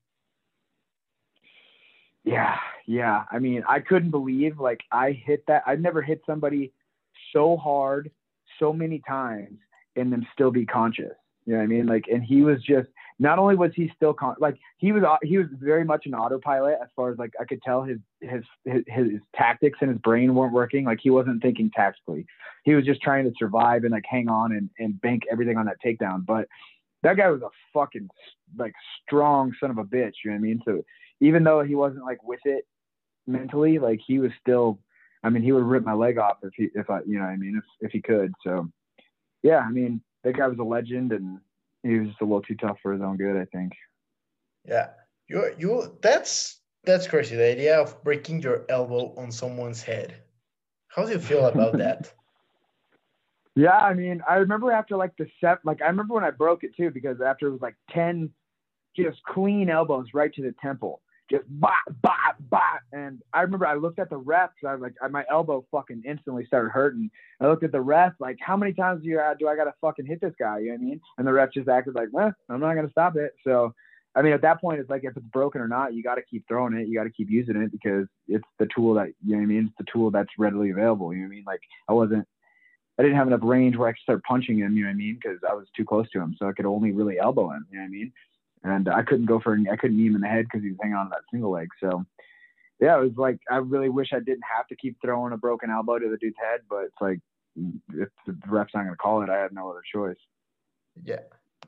Yeah, yeah. I mean, I couldn't believe like I hit that. I've never hit somebody so hard so many times and them still be conscious. You know what I mean? Like, and he was just not only was he still con- like he was he was very much an autopilot as far as like I could tell his his his, his tactics in his brain weren't working. Like he wasn't thinking tactically. He was just trying to survive and like hang on and, and bank everything on that takedown. But that guy was a fucking like strong son of a bitch. You know what I mean? So even though he wasn't like with it mentally, like he was still, I mean, he would rip my leg off if he, if I, you know what I mean, if, if he could. So yeah, I mean, that guy was a legend and he was just a little too tough for his own good, I think. Yeah. You, you, that's, that's crazy. The idea of breaking your elbow on someone's head. How do you feel about that? Yeah, I mean, I remember after like the set, like I remember when I broke it too, because after it was like ten just clean elbows right to the temple. Just bop, bop, bop. And I remember I looked at the ref. I was like, my elbow fucking instantly started hurting. I looked at the ref, like, how many times do, you, do I got to fucking hit this guy? You know what I mean? And the ref just acted like, well, I'm not going to stop it. So, I mean, at that point, it's like, if it's broken or not, you got to keep throwing it. You got to keep using it because it's the tool that, you know what I mean? It's the tool that's readily available. You know what I mean? Like, I wasn't, I didn't have enough range where I could start punching him, you know what I mean? Because I was too close to him. So I could only really elbow him, you know what I mean? And I couldn't go for, I couldn't knee him in the head because he was hanging on to that single leg. So, yeah, it was like, I really wish I didn't have to keep throwing a broken elbow to the dude's head, but it's like, if the ref's not going to call it, I had no other choice. Yeah.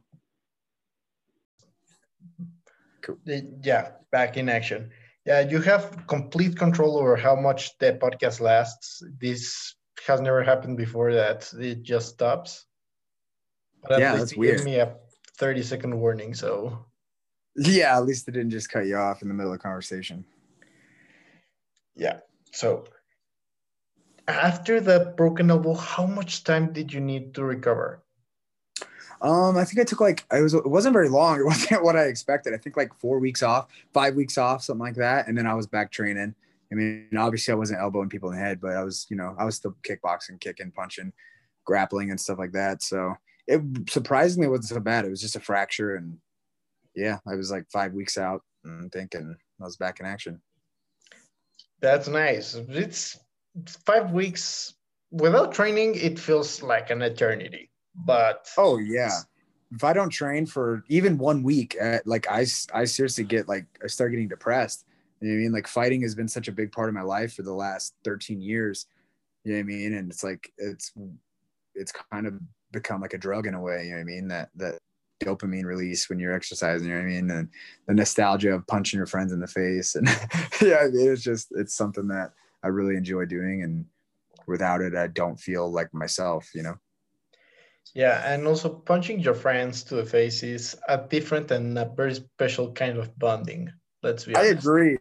Cool. Yeah, back in action. Yeah, you have complete control over how much the podcast lasts. This has never happened before that it just stops. But at Yeah, least that's you weird. gave me a thirty second warning, so Yeah, at least it didn't just cut you off in the middle of the conversation. yeah. So after the broken elbow, how much time did you need to recover? Um, I think I took like I was it wasn't very long. It wasn't what I expected. I think like four weeks off, five weeks off, something like that, and then I was back training. I mean, obviously I wasn't elbowing people in the head, but I was, you know, I was still kickboxing, kicking, punching, grappling, and stuff like that. So it surprisingly wasn't so bad. It was just a fracture, and yeah, I was like five weeks out and thinking I was back in action. That's nice. It's five weeks without training. It feels like an eternity. But oh yeah, if I don't train for even one week, uh, like I, I seriously get like I start getting depressed. You know what I mean? Like fighting has been such a big part of my life for the last thirteen years. You know what I mean? And it's like it's it's kind of become like a drug in a way. You know what I mean? That that dopamine release when you're exercising. You know what I mean? And the nostalgia of punching your friends in the face. And yeah, I mean, it's just it's something that I really enjoy doing. And without it, I don't feel like myself. You know. Yeah, and also punching your friends to the face is a different and a very special kind of bonding. Let's be honest. I agree.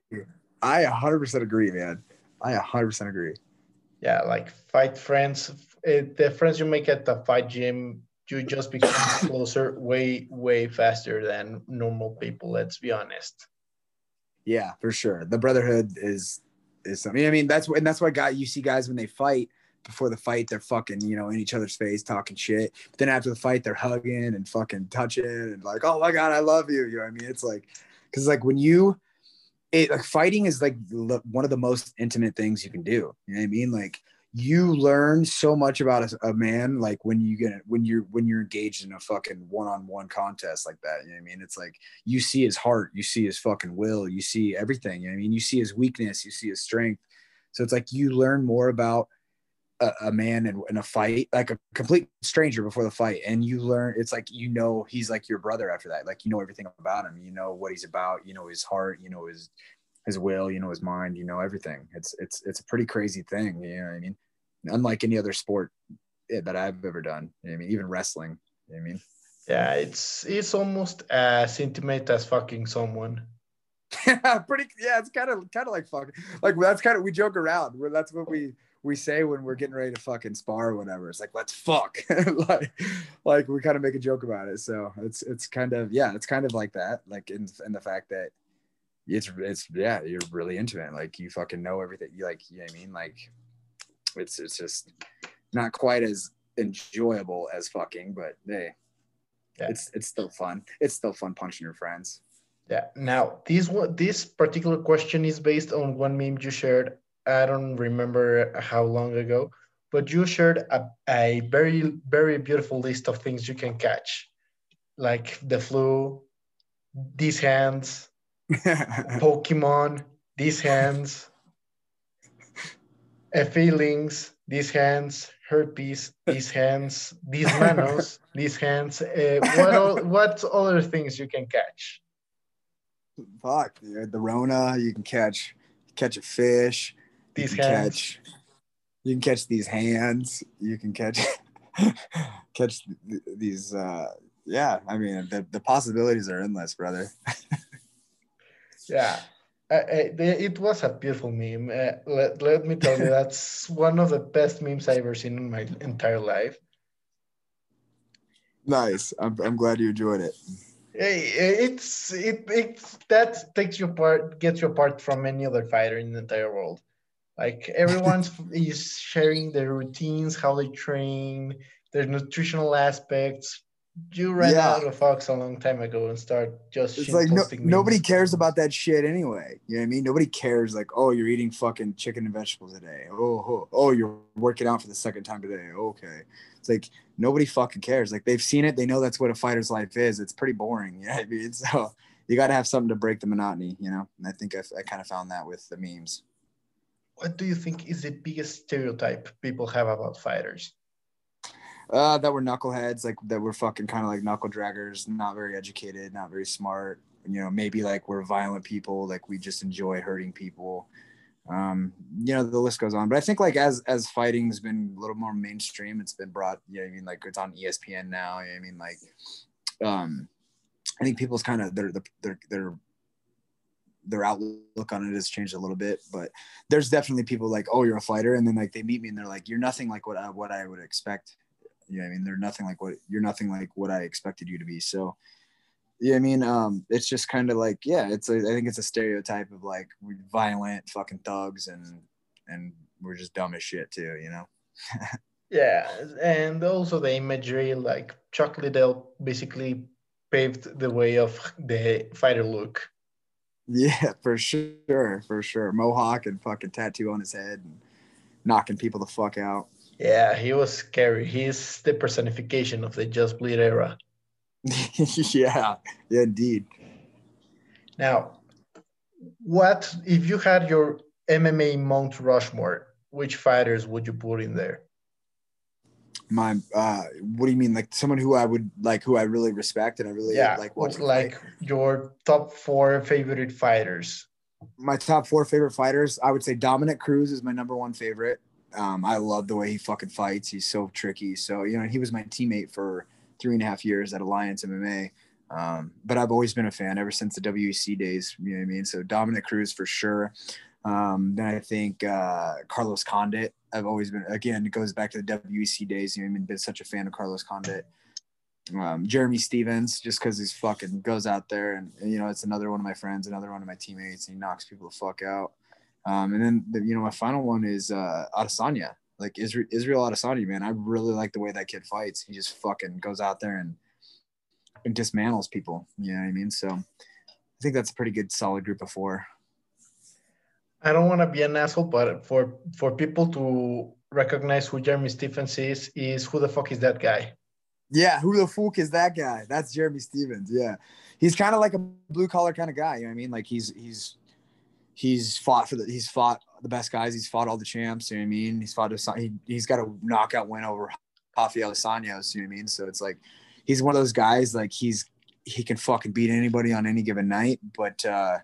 I one hundred percent agree, man. I one hundred percent agree. Yeah, like fight friends, the friends you make at the fight gym, you just become closer way, way faster than normal people. Let's be honest. Yeah, for sure. The brotherhood is is something. I mean, that's and that's why guy you see guys when they fight. Before the fight, they're fucking, you know, in each other's face, talking shit. But then after the fight, they're hugging and fucking touching and like, oh my God, I love you. You know what I mean? It's like, because like when you, it like fighting is like one of the most intimate things you can do. You know what I mean? Like you learn so much about a, a man, like when you get, when you're, when you're engaged in a fucking one-on-one contest like that. You know what I mean? It's like, you see his heart, you see his fucking will, you see everything. You know what I mean? You see his weakness, you see his strength. So it's like, you learn more about a, a man in, in a fight, like a complete stranger before the fight. And you learn, it's like, you know, he's like your brother after that. Like, you know, everything about him, you know what he's about, you know, his heart, you know, his, his will, you know, his mind, you know, everything. It's, it's, it's a pretty crazy thing. You know what I mean? Unlike any other sport that I've ever done. You know what I mean? Even wrestling, you know what I mean? Yeah. It's, it's almost as intimate as fucking someone. Yeah, pretty. Yeah, it's kind of kind of like fucking like that's kind of we joke around where that's what we we say when we're getting ready to fucking spar or whatever. It's like let's fuck like like we kind of make a joke about it. So it's it's kind of yeah, it's kind of like that. Like in in the fact that it's it's yeah, you're really intimate. Like you fucking know everything. You like you know what I mean? Like it's it's just not quite as enjoyable as fucking, but hey, yeah. it's it's still fun. It's still fun punching your friends. Yeah. Now, this one, this particular question is based on one meme you shared. I don't remember how long ago, but you shared a, a very, very beautiful list of things you can catch, like the flu, these hands, Pokemon, these hands, uh, feelings, these hands, herpes, these hands, these manos, these hands. Uh, what all, what other things you can catch? Fuck, dude. The Rona, you can catch catch a fish. These you can hands. catch you can catch these hands. You can catch catch th- these uh yeah, I mean the, the possibilities are endless, brother. Yeah. I, I, it was a beautiful meme. Uh, let, let me tell you, that's one of the best memes I've ever seen in my entire life. Nice. I'm I'm glad you enjoyed it. It's it it's that takes you apart, gets you apart from any other fighter in the entire world. Like everyone's is sharing their routines, how they train, their nutritional aspects. You ran Yeah. out of Fox a long time ago and start just It's like no, shitposting nobody memes. cares about that shit anyway. You know what I mean? Nobody cares like, oh, you're eating fucking chicken and vegetables today. Oh, oh, oh, you're working out for the second time today. Okay. It's like nobody fucking cares. Like they've seen it. They know that's what a fighter's life is. It's pretty boring. You know what I mean? So you got to have something to break the monotony, you know? And I think I, I kind of found that with the memes. What do you think is the biggest stereotype people have about fighters? Uh, that were knuckleheads, like that were fucking kind of like knuckle draggers, not very educated, not very smart. You know, maybe like we're violent people, like we just enjoy hurting people. Um, you know, the list goes on. But I think like as as fighting's been a little more mainstream, it's been brought. You know, I mean, like it's on E S P N now. You know I mean, like, um, I think people's kind of their their their their outlook on it has changed a little bit. But there's definitely people like, oh, you're a fighter, and then like they meet me and they're like, you're nothing like what I, what I would expect. You know, I mean, they're nothing like what you're nothing like what I expected you to be. So, yeah, I mean, um, it's just kind of like, yeah, it's a, I think it's a stereotype of like we're violent fucking thugs and and we're just dumb as shit too, you know. Yeah, and also the imagery, like Chuck Liddell basically paved the way of the fighter look. Yeah, for sure, for sure. Mohawk and fucking tattoo on his head and knocking people the fuck out. Yeah, he was scary. He's the personification of the Just Bleed era. yeah, yeah, indeed. Now, what if you had your M M A Mount Rushmore? Which fighters would you put in there? My, uh, what do you mean? Like someone who I would like, who I really respect and I really yeah, like watching. Like fight? Your top four favorite fighters. My top four favorite fighters, I would say Dominic Cruz is my number one favorite. Um, I love the way he fucking fights. He's so tricky. So, you know, he was my teammate for three and a half years at Alliance M M A. Um, but I've always been a fan ever since the W E C days. You know what I mean? So Dominic Cruz for sure. Um, then I think uh, Carlos Condit. I've always been, again, it goes back to the W E C days. You know what I mean? Been such a fan of Carlos Condit. Um, Jeremy Stevens, just because he's fucking goes out there and, and, you know, it's another one of my friends, another one of my teammates. And he knocks people the fuck out. Um, and then, the, you know, my final one is uh, Adesanya, like Israel, Israel Adesanya, man. I really like the way that kid fights. He just fucking goes out there and, and dismantles people. You know what I mean? So I think that's a pretty good, solid group of four. I don't want to be an asshole, but for, for people to recognize who Jeremy Stevens is, is who the fuck is that guy? Yeah, who the fuck is that guy? That's Jeremy Stevens. Yeah, he's kind of like a blue collar kind of guy. You know what I mean? Like he's he's he's fought for the he's fought the best guys. He's fought all the champs. You know what I mean? He's fought he he's got a knockout win over Rafael dos Anjos. You know what I mean? So it's like he's one of those guys. Like he's he can fucking beat anybody on any given night, but uh,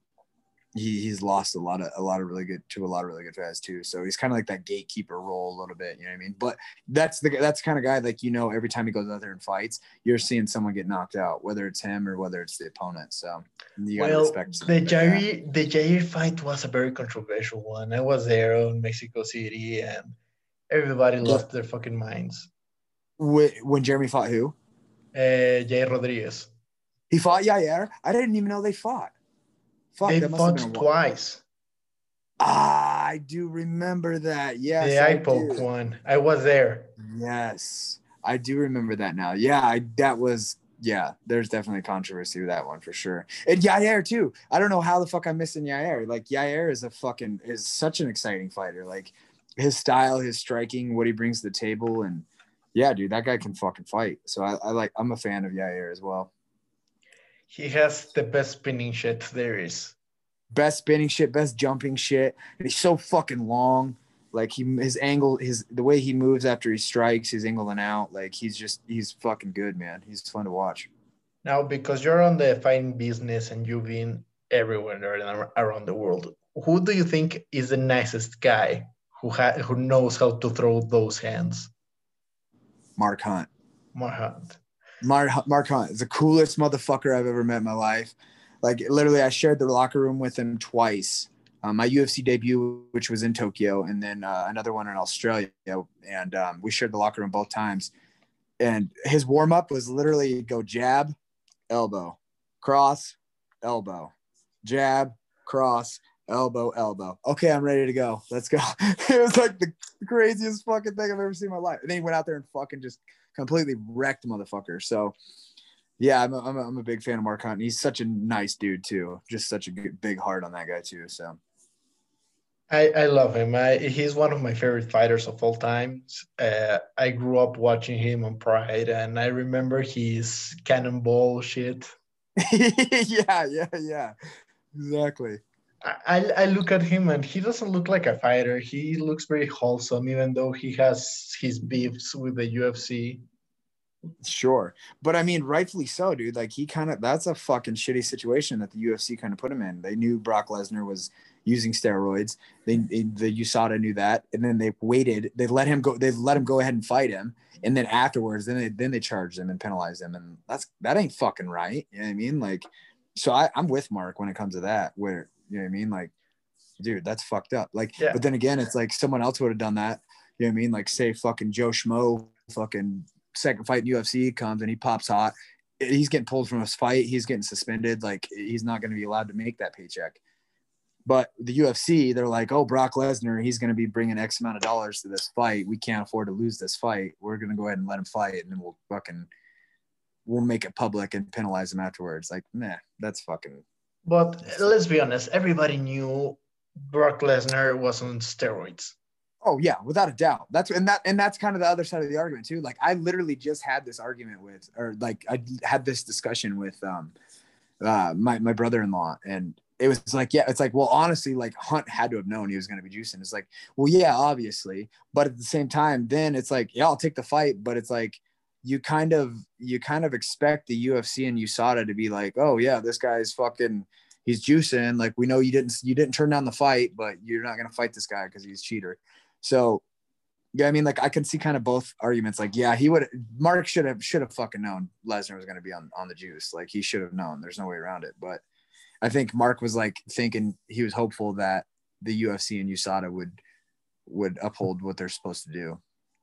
he he's lost a lot of a lot of really good to a lot of really good guys too. So he's kind of like that gatekeeper role a little bit, you know what I mean? But that's the that's the kind of guy, like, you know, every time he goes out there and fights, you're seeing someone get knocked out, whether it's him or whether it's the opponent. So you gotta well, respect the Jair the Jair fight was a very controversial one. I was there in Mexico City, and everybody yeah. lost their fucking minds. When Jeremy fought who? Uh, Jair Rodriguez. He fought Yair. I didn't even know they fought. Fuck, they fought twice. Ah, I do remember that. Yes, The I eye poke do. one. I was there. Yes, I do remember that now. Yeah, I, that was, yeah, there's definitely controversy with that one for sure. And Yair too. I don't know how the fuck I'm missing Yair. Like Yair is a fucking, is such an exciting fighter. Like his style, his striking, what he brings to the table. And yeah, dude, that guy can fucking fight. So I, I like, I'm a fan of Yair as well. He has the best spinning shit there is. Best spinning shit, best jumping shit. And he's so fucking long. Like he, his angle, his the way he moves after he strikes, his angling out. Like he's just, he's fucking good, man. He's fun to watch. Now, because you're on the fighting business and you've been everywhere around the world, who do you think is the nicest guy who ha- who knows how to throw those hands? Mark Hunt. Mark Hunt. Mark, Mark Hunt is the coolest motherfucker I've ever met in my life. Like literally, I shared the locker room with him twice. Um, my U F C debut, which was in Tokyo, and then uh, another one in Australia. And um, we shared the locker room both times. And his warm up was literally go jab, elbow, cross, elbow, jab, cross, elbow, elbow. Okay, I'm ready to go. Let's go. It was like the craziest fucking thing I've ever seen in my life. And then he went out there and fucking just completely wrecked the motherfucker. So yeah, I'm a, I'm, a, I'm a big fan of Mark Hunt. He's such a nice dude too. Just such a good, big heart on that guy too. So I, I love him. I, he's one of my favorite fighters of all time. Uh, I grew up watching him on Pride, and I remember his cannonball shit. yeah, yeah, yeah, exactly. I, I look at him and he doesn't look like a fighter. He looks very wholesome, even though he has his beefs with the U F C. Sure. But I mean, rightfully so, dude. Like he kind of, that's a fucking shitty situation that the U F C kind of put him in. They knew Brock Lesnar was using steroids. They, they the U S A D A knew that. And then they waited, they let him go, they let him go ahead and fight him. And then afterwards, then they, then they charged him and penalized him. And that's, that ain't fucking right. You know what I mean? Like, so I, I'm with Mark when it comes to that, where, you know what I mean? Like, dude, that's fucked up. Like, yeah. But then again, it's like someone else would have done that. You know what I mean? Like say fucking Joe Schmo fucking second fight in U F C comes and he pops hot. He's getting pulled from his fight. He's getting suspended. Like he's not going to be allowed to make that paycheck. But the U F C, they're like, oh, Brock Lesnar, he's going to be bringing X amount of dollars to this fight. We can't afford to lose this fight. We're going to go ahead and let him fight. And then we'll fucking, we'll make it public and penalize him afterwards. Like, nah, that's fucking. But let's be honest. Everybody knew Brock Lesnar was on steroids. Oh yeah, without a doubt. That's and that and that's kind of the other side of the argument too. Like I literally just had this argument with, or like I had this discussion with um uh my my brother-in-law, and it was like, yeah, it's like, well, honestly, like Hunt had to have known he was going to be juicing. It's like, well, yeah, obviously, but at the same time, then it's like, yeah, I'll take the fight, but it's like you kind of you kind of expect the U F C and U S A D A to be like, oh yeah, this guy's fucking. He's juicing. Like we know you didn't you didn't turn down the fight, but you're not going to fight this guy because he's a cheater. So, yeah, I mean, like I can see kind of both arguments. Like, yeah, he would. Mark should have should have fucking known Lesnar was going to be on on the juice. Like, he should have known. There's no way around it. But I think Mark was like thinking he was hopeful that the U F C and U S A D A would would uphold what they're supposed to do.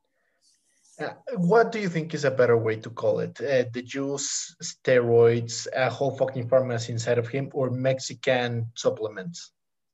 Uh, what do you think is a better way to call it? Uh, the juice, steroids, a whole fucking pharmacy inside of him, or Mexican supplements?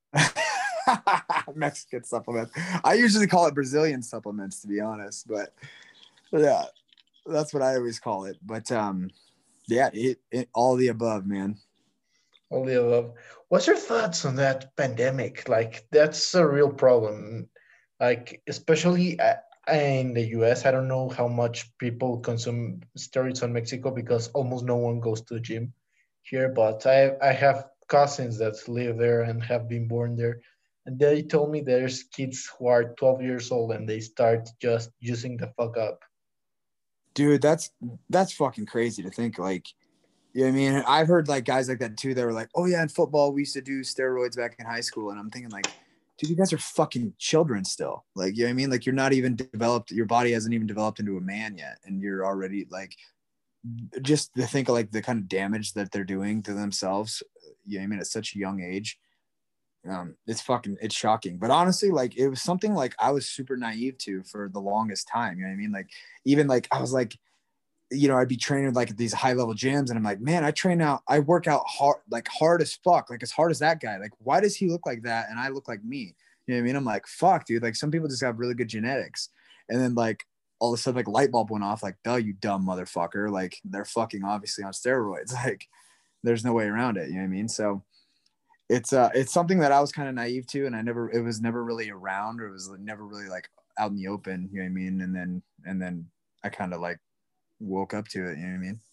Mexican supplements. I usually call it Brazilian supplements, to be honest, but yeah, that's what I always call it. But um, yeah, it, it all the above, man. All the above. What's your thoughts on that pandemic? Like, that's a real problem. Like, especially in the U S, I don't know how much people consume steroids on Mexico because almost no one goes to the gym here. But I I have cousins that live there and have been born there. And they told me there's kids who are twelve years old and they start just using the fuck up. Dude, that's that's fucking crazy to think. Like, you know what I mean? I've heard like guys like that too. They were like, oh yeah, in football we used to do steroids back in high school. And I'm thinking like, dude, you guys are fucking children still. Like, you know what I mean? Like you're not even developed. Your body hasn't even developed into a man yet. And you're already like, just to think of like the kind of damage that they're doing to themselves. You know what I mean? At such a young age. Um, it's fucking, it's shocking. But honestly, like it was something like I was super naive to for the longest time. You know what I mean? Like even like I was like, you know, I'd be training like at these high level gyms, and I'm like, man, I train out, I work out hard, like hard as fuck, like as hard as that guy. Like, why does he look like that and I look like me? You know what I mean? I'm like, fuck, dude. Like, some people just have really good genetics, and then like all of a sudden, like light bulb went off. Like, duh, you dumb motherfucker. Like, they're fucking obviously on steroids. Like, there's no way around it. You know what I mean? So it's uh, it's something that I was kind of naive to, and I never, it was never really around, or it was never really like out in the open. You know what I mean? And then, and then I kind of like woke up to it, you know what I mean?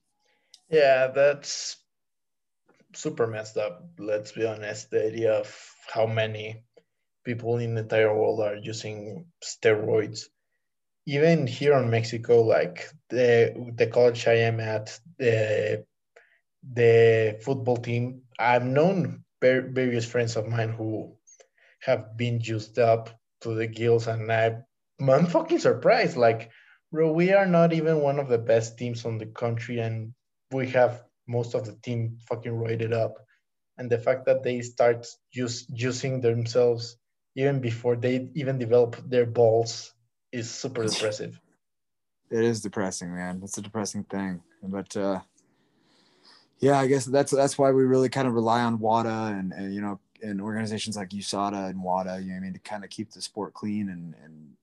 Yeah, that's super messed up. Let's be honest. The idea of how many people in the entire world are using steroids. Even here in Mexico, like the the college I am at, the the football team, I've known various friends of mine who have been juiced up to the gills, and I, I'm fucking surprised. Like, bro, we are not even one of the best teams on the country, and we have most of the team fucking roided up. And the fact that they start use, using themselves even before they even develop their balls is super depressive. It is depressing, man. It's a depressing thing. But uh, yeah, I guess that's that's why we really kind of rely on WADA and, and you know, and organizations like U S A D A and WADA, you know what I mean, to kind of keep the sport clean and and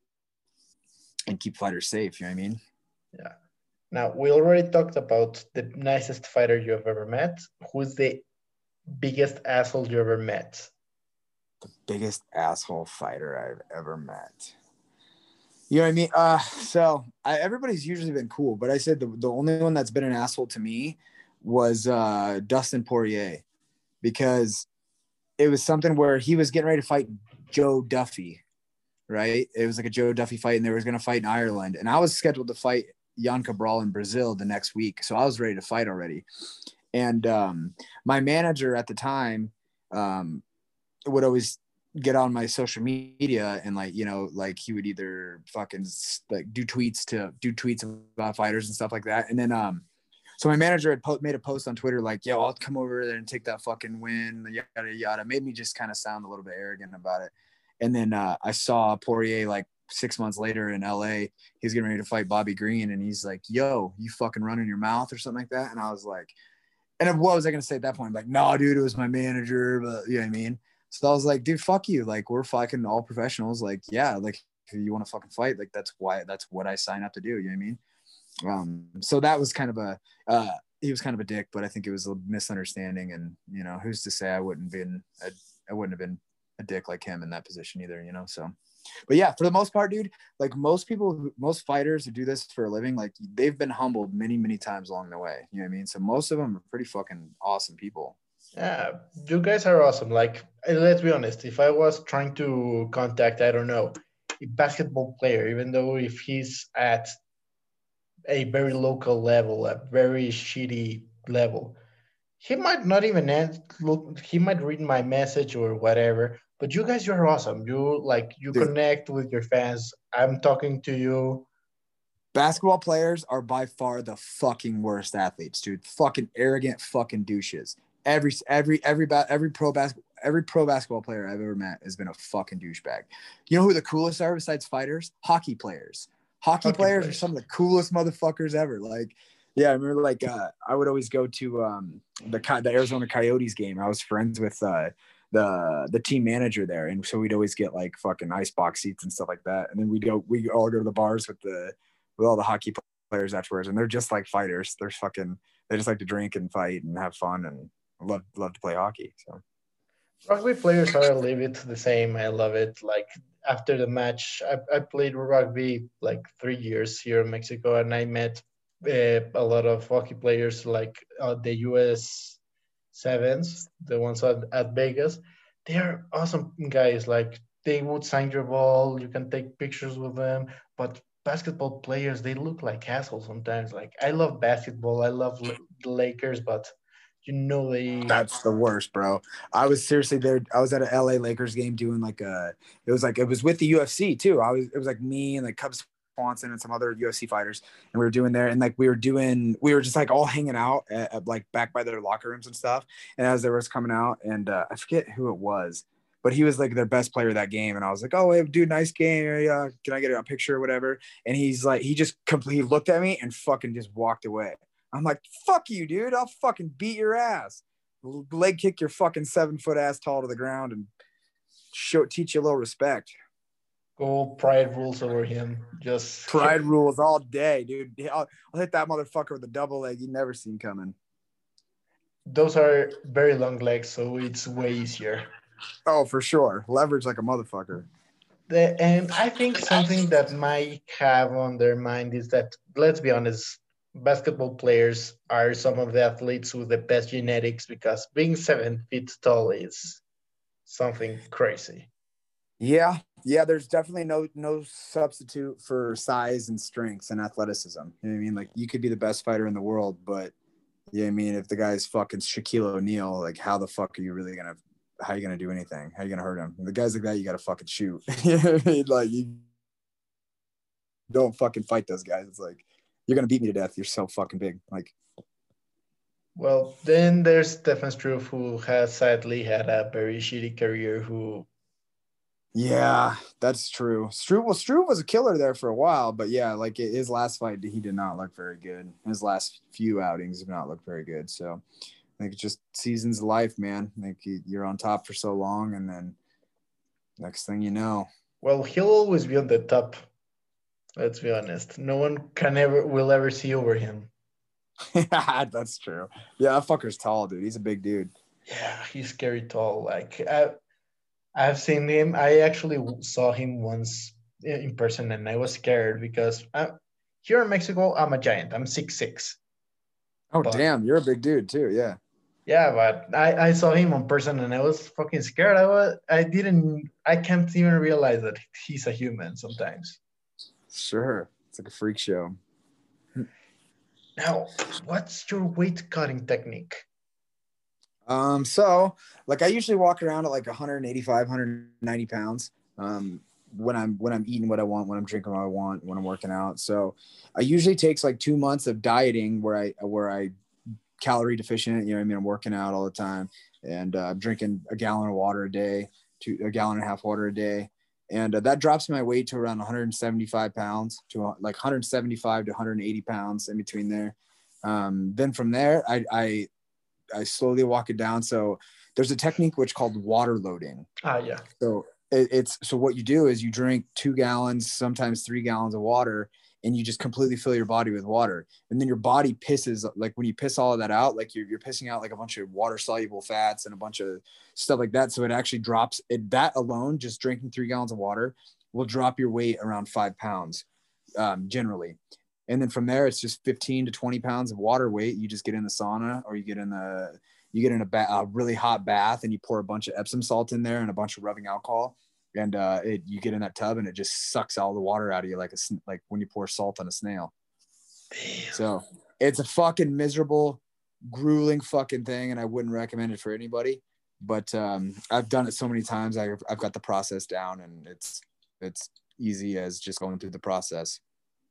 and keep fighters safe, you know what I mean? Yeah. Now, we already talked about the nicest fighter you have ever met. Who's the biggest asshole you ever met? The biggest asshole fighter I've ever met. You know what I mean? Uh, so I, everybody's usually been cool, but I said the, the only one that's been an asshole to me was uh, Dustin Poirier, because it was something where he was getting ready to fight Joe Duffy, right? It was like a Joe Duffy fight, and they were going to fight in Ireland. And I was scheduled to fight Jan Cabral in Brazil the next week. So I was ready to fight already. And um, my manager at the time um, would always get on my social media and like, you know, like he would either fucking like do tweets to do tweets about fighters and stuff like that. And then, um, so my manager had po- made a post on Twitter, like, yo, I'll come over there and take that fucking win, yada, yada. Made me just kind of sound a little bit arrogant about it. And then uh, I saw Poirier like six months later in L A, he's getting ready to fight Bobby Green. And he's like, yo, you fucking running your mouth or something like that. And I was like, and what was I going to say at that point? I'm like, no, dude, it was my manager, but you know what I mean? So I was like, dude, fuck you. Like, we're fucking all professionals. Like, yeah, like if you want to fucking fight, like that's why, that's what I signed up to do. You know what I mean? Um, so that was kind of a, uh, he was kind of a dick, but I think it was a misunderstanding. And, you know, who's to say I wouldn't been, a, I wouldn't have been a dick like him in that position either, you know? So, but yeah, for the most part, dude, like most people, who, most fighters who do this for a living, like they've been humbled many, many times along the way. You know what I mean? So most of them are pretty fucking awesome people. Yeah, you guys are awesome. Like, let's be honest, if I was trying to contact, I don't know, a basketball player, even though if he's at a very local level, a very shitty level, he might not even end, look, he might read my message or whatever, but you guys, you're awesome. You like, you Dude. connect with your fans. I'm talking to you. Basketball players are by far the fucking worst athletes, dude. Fucking arrogant fucking douches. Every every every every pro basketball every pro basketball player I've ever met has been a fucking douchebag. You know who the coolest are besides fighters? Hockey players. Hockey, Hockey players, players are some of the coolest motherfuckers ever. Like, yeah, I remember like uh, I would always go to um, the the Arizona Coyotes game. I was friends with uh, the the team manager there, and so we'd always get like fucking ice box seats and stuff like that. And then we'd go we all go to the bars with the with all the hockey players afterwards, and they're just like fighters. They're fucking they just like to drink and fight and have fun and love love to play hockey. So rugby players are a little bit the same. I love it. Like after the match, I, I played rugby like three years here in Mexico, and I met uh, a lot of hockey players like uh, the U S Sevens, the ones at, at Vegas. They are awesome guys. Like they would sign your ball, you can take pictures with them, but basketball players, they look like assholes sometimes. Like I love basketball, I love the Lakers, but you know they that's the worst, bro. I was seriously there. I was at an L A Lakers game doing like a it was like it was with the U F C too. I was it was like me and like Cubs Swanson and some other U F C fighters, and we were doing there and like we were doing we were just like all hanging out at, at, like back by their locker rooms and stuff. And as they was coming out, and uh, I forget who it was, but he was like their best player that game. And I was like, oh, hey, dude, nice game. Yeah, can I get a picture or whatever? And he's like, he just completely looked at me and fucking just walked away. I'm like, fuck you, dude. I'll fucking beat your ass. Leg kick your fucking seven foot ass tall to the ground and show teach you a little respect. Go pride rules over him. Just pride rules all day, dude. I'll, I'll hit that motherfucker with a double leg you never seen coming. Those are very long legs, so it's way easier. Oh, for sure. Leverage like a motherfucker. The, and I think something that might have on their mind is that, let's be honest, basketball players are some of the athletes with the best genetics, because being seven feet tall is something crazy. Yeah, yeah. There's definitely no no substitute for size and strength and athleticism. You know what I mean? Like, you could be the best fighter in the world, but you know what I mean, if the guy's fucking Shaquille O'Neal, like, how the fuck are you really gonna? How are you gonna do anything? How are you gonna hurt him? The guys like that, you gotta fucking shoot. You know what I mean? Like, you don't fucking fight those guys. It's like, you're gonna beat me to death. You're so fucking big. Like, well, then there's Stefan Struve, who has sadly had a very shitty career. Who, yeah, that's true. Struve, well, Struve was a killer there for a while, but yeah, like his last fight, he did not look very good. His last few outings have not looked very good. So, I think it's just seasons of life, man. Like, you're on top for so long, and then next thing you know, well, he'll always be on the top. Let's be honest. No one can ever will ever see over him. That's true. Yeah, that fucker's tall, dude. He's a big dude. Yeah, he's scary tall. Like, I, I've seen him. I actually saw him once in person, and I was scared because I, here in Mexico, I'm a giant. I'm six six. Oh, but, damn. You're a big dude, too. Yeah. Yeah, but I, I saw him in person, and I was fucking scared. I was, I didn't, I can't even realize that he's a human sometimes. Sure. It's like a freak show. Now, what's your weight cutting technique? Um, so like, I usually walk around at like one eighty-five, one ninety pounds. Um, when I'm when I'm eating what I want, when I'm drinking what I want, when I'm working out. So I usually takes like two months of dieting where I where I calorie deficient. You know what I mean? I'm working out all the time, and uh, I'm drinking a gallon of water a day, to a gallon and a half water a day. And uh, that drops my weight to around one seventy-five pounds, to uh, like one seventy-five to one eighty pounds, in between there. Um, then from there, I, I, I slowly walk it down. So there's a technique which called water loading. Ah, yeah. So it, it's, so what you do is you drink two gallons, sometimes three gallons of water, and you just completely fill your body with water. And then your body pisses, like when you piss all of that out, like you're, you're pissing out like a bunch of water soluble fats and a bunch of stuff like that. So it actually drops it. That alone, just drinking three gallons of water will drop your weight around five pounds um, generally. And then from there, it's just fifteen to twenty pounds of water weight. You just get in the sauna, or you get in the, you get in a, ba- a really hot bath, and you pour a bunch of Epsom salt in there and a bunch of rubbing alcohol. And uh, it, you get in that tub, and it just sucks all the water out of you, like a, like when you pour salt on a snail. Damn. So it's a fucking miserable, grueling fucking thing, and I wouldn't recommend it for anybody. But um, I've done it so many times. I've, I've got the process down, and it's it's easy as just going through the process.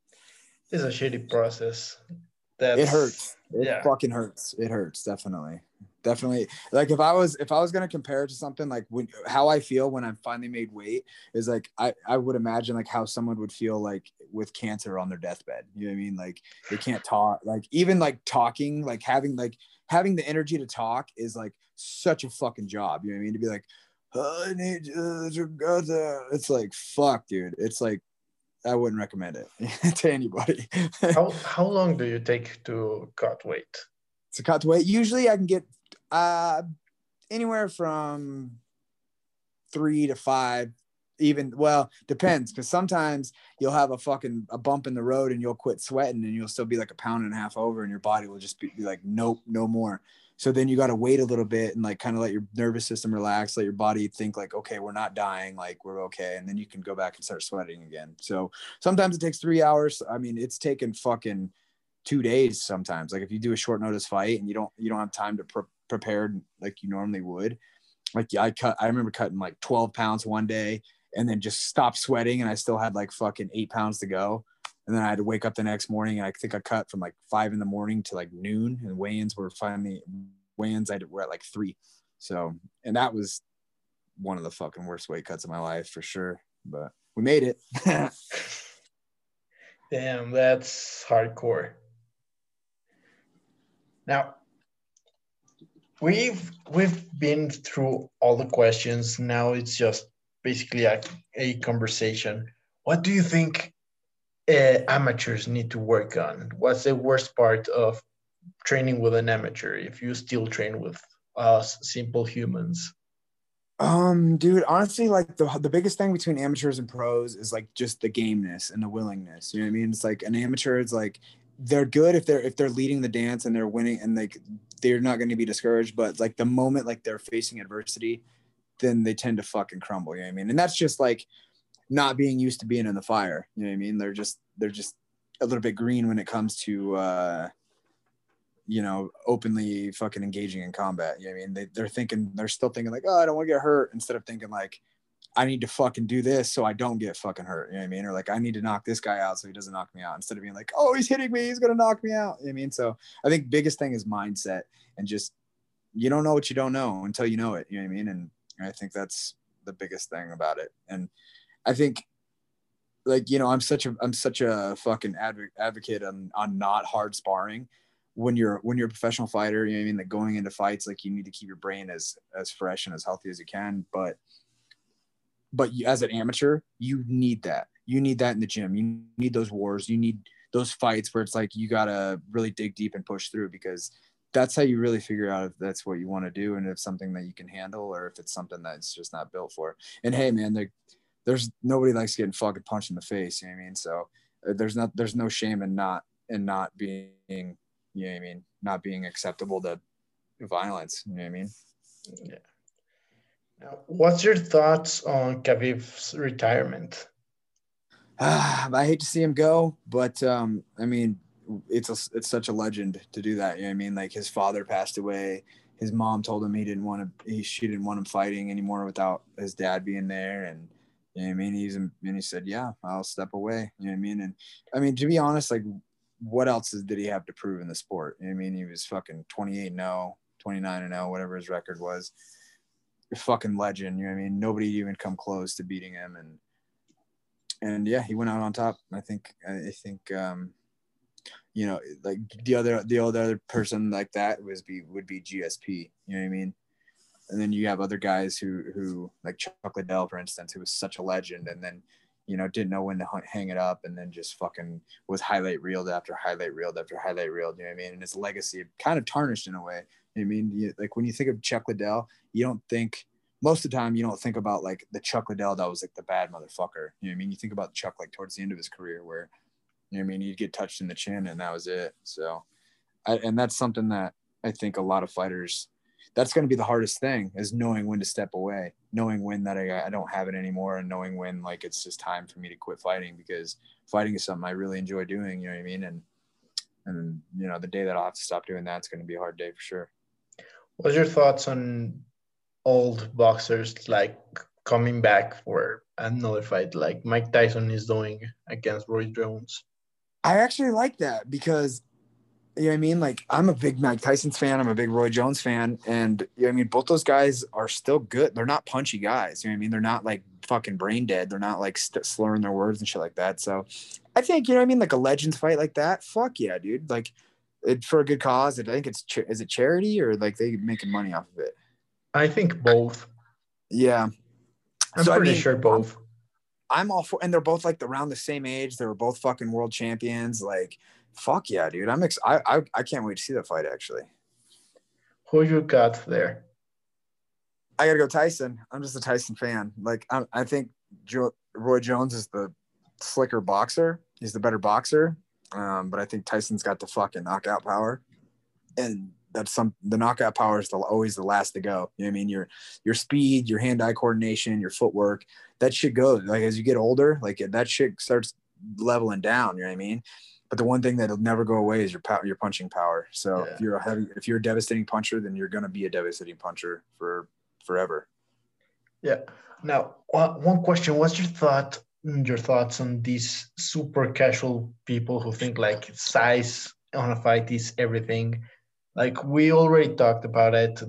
It's a shitty process. That's, it hurts. It yeah. fucking hurts. It hurts. Definitely. Definitely. Like if I was, if I was going to compare it to something, like when, how I feel when I'm finally made weight is like, I, I would imagine like how someone would feel like with cancer on their deathbed. You know what I mean? Like they can't talk, like even like talking, like having, like having the energy to talk is like such a fucking job. You know what I mean? To be like, oh, I need you to go there. It's like, fuck, dude. It's like, I wouldn't recommend it to anybody. how how long do you take to cut weight? To cut weight, usually I can get uh, anywhere from three to five, even. Well, depends, because sometimes you'll have a fucking a bump in the road and you'll quit sweating and you'll still be like a pound and a half over, and your body will just be, be like, nope, no more. So then you got to wait a little bit and like kind of let your nervous system relax, let your body think like, okay, we're not dying, like we're okay. And then you can go back and start sweating again. So sometimes it takes three hours. I mean, it's taken fucking two days sometimes. Like if you do a short notice fight and you don't, you don't have time to pre- prepare like you normally would. Like I cut, I remember cutting like twelve pounds one day and then just stopped sweating. And I still had like fucking eight pounds to go. And then I had to wake up the next morning, and I think I cut from like five in the morning to like noon, and weigh-ins were finally weigh-ins I were at like three. So, and that was one of the fucking worst weight cuts of my life for sure. But we made it. Damn, that's hardcore. Now, we've we've been through all the questions. Now it's just basically a, a conversation. What do you think uh, amateurs need to work on? What's the worst part of training with an amateur if you still train with us simple humans? Um, dude, honestly, like the the biggest thing between amateurs and pros is like just the gameness and the willingness. You know what I mean? It's like an amateur, it's like they're good if they're if they're leading the dance and they're winning and like they're not going to be discouraged. But like the moment like they're facing adversity, then they tend to fucking crumble. You know what I mean? And that's just like not being used to being in the fire. You know what I mean? They're just they're just a little bit green when it comes to uh you know, openly fucking engaging in combat. You know what I mean? They, they're thinking, they're still thinking like, oh, I don't want to get hurt, instead of thinking like, I need to fucking do this so I don't get fucking hurt. You know what I mean? Or like, I need to knock this guy out so he doesn't knock me out, instead of being like, oh, he's hitting me, he's going to knock me out. You know what I mean? So I think biggest thing is mindset, and just, you don't know what you don't know until you know it. You know what I mean? And I think that's the biggest thing about it. And I think, like, you know, I'm such a, I'm such a fucking adv- advocate on, on not hard sparring. When you're when you're a professional fighter, you know what I mean, like going into fights, like you need to keep your brain as as fresh and as healthy as you can. But but you, as an amateur, you need that. You need that in the gym. You need those wars. You need those fights where it's like you gotta really dig deep and push through, because that's how you really figure out if that's what you want to do and if it's something that you can handle or if it's something that's just not built for. And hey, man, there, there's nobody likes getting fucking punched in the face. You know what I mean? So uh, there's not there's no shame in not in not being, you know what I mean, not being acceptable to violence. You know what I mean? Yeah. Now, what's your thoughts on Khabib's retirement? Ah, I hate to see him go, but um, I mean, it's a, it's such a legend to do that. You know what I mean? Like his father passed away. His mom told him he didn't want to, he, she didn't want him fighting anymore without his dad being there. And, you know what I mean? He's, and he said, yeah, I'll step away. You know what I mean? And I mean, to be honest, like, what else is, did he have to prove in the sport? You know what I mean? He was fucking twenty-eight and oh, twenty-nine and oh, whatever his record was. A fucking legend. You know what I mean? Nobody even come close to beating him. And, and yeah, he went out on top. I think, I think, um, you know, like the other, the other person like that was be, would be G S P, you know what I mean? And then you have other guys who, who like Chuck Liddell, for instance, who was such a legend, and then, you know, didn't know when to hang it up, and then just fucking was highlight reeled after highlight reeled after highlight reeled, you know what I mean? And his legacy kind of tarnished in a way. You know what I mean? You, like when you think of Chuck Liddell, you don't think, most of the time, you don't think about like the Chuck Liddell that was like the bad motherfucker. You know what I mean? You think about Chuck like towards the end of his career where, you know what I mean, he'd get touched in the chin and that was it. So, I, and that's something that I think a lot of fighters, that's going to be the hardest thing, is knowing when to step away, knowing when that I, I don't have it anymore, and knowing when like it's just time for me to quit fighting, because fighting is something I really enjoy doing. You know what I mean? And and you know, the day that I'll have to stop doing that, it's going to be a hard day for sure. What's your thoughts on old boxers like coming back for another fight, like Mike Tyson is doing against Roy Jones? I actually like that, because you know what I mean? Like, I'm a big Mike Tyson's fan. I'm a big Roy Jones fan. And, you know what I mean? Both those guys are still good. They're not punchy guys. You know what I mean? They're not, like, fucking brain dead. They're not, like, st- slurring their words and shit like that. So, I think, you know what I mean? Like, a Legends fight like that, fuck yeah, dude. Like, it, for a good cause. I think it's, ch- is it charity, or, like, they making money off of it? I think both. Yeah. I'm so, pretty I mean, sure both. I'm all for, and they're both, like, around the same age. They were both fucking world champions. Like, fuck yeah, dude. I'm ex- I, I I can't wait to see that fight, actually. Who you got there? I gotta go Tyson. I'm just a Tyson fan. Like, I, I think jo- Roy Jones is the slicker boxer. He's the better boxer. Um, but I think Tyson's got the fucking knockout power, and that's some the knockout power is the, always the last to go. You know what I mean? Your your speed, your hand-eye coordination, your footwork, that shit goes. Like, as you get older, like that shit starts leveling down. You know what I mean? But the one thing that'll never go away is your power, your punching power. So yeah. if you're a heavy, if you're a devastating puncher, then you're gonna be a devastating puncher for forever. Yeah. Now, one question: what's your thought? Your thoughts on these super casual people who think like size on a fight is everything? Like we already talked about it, that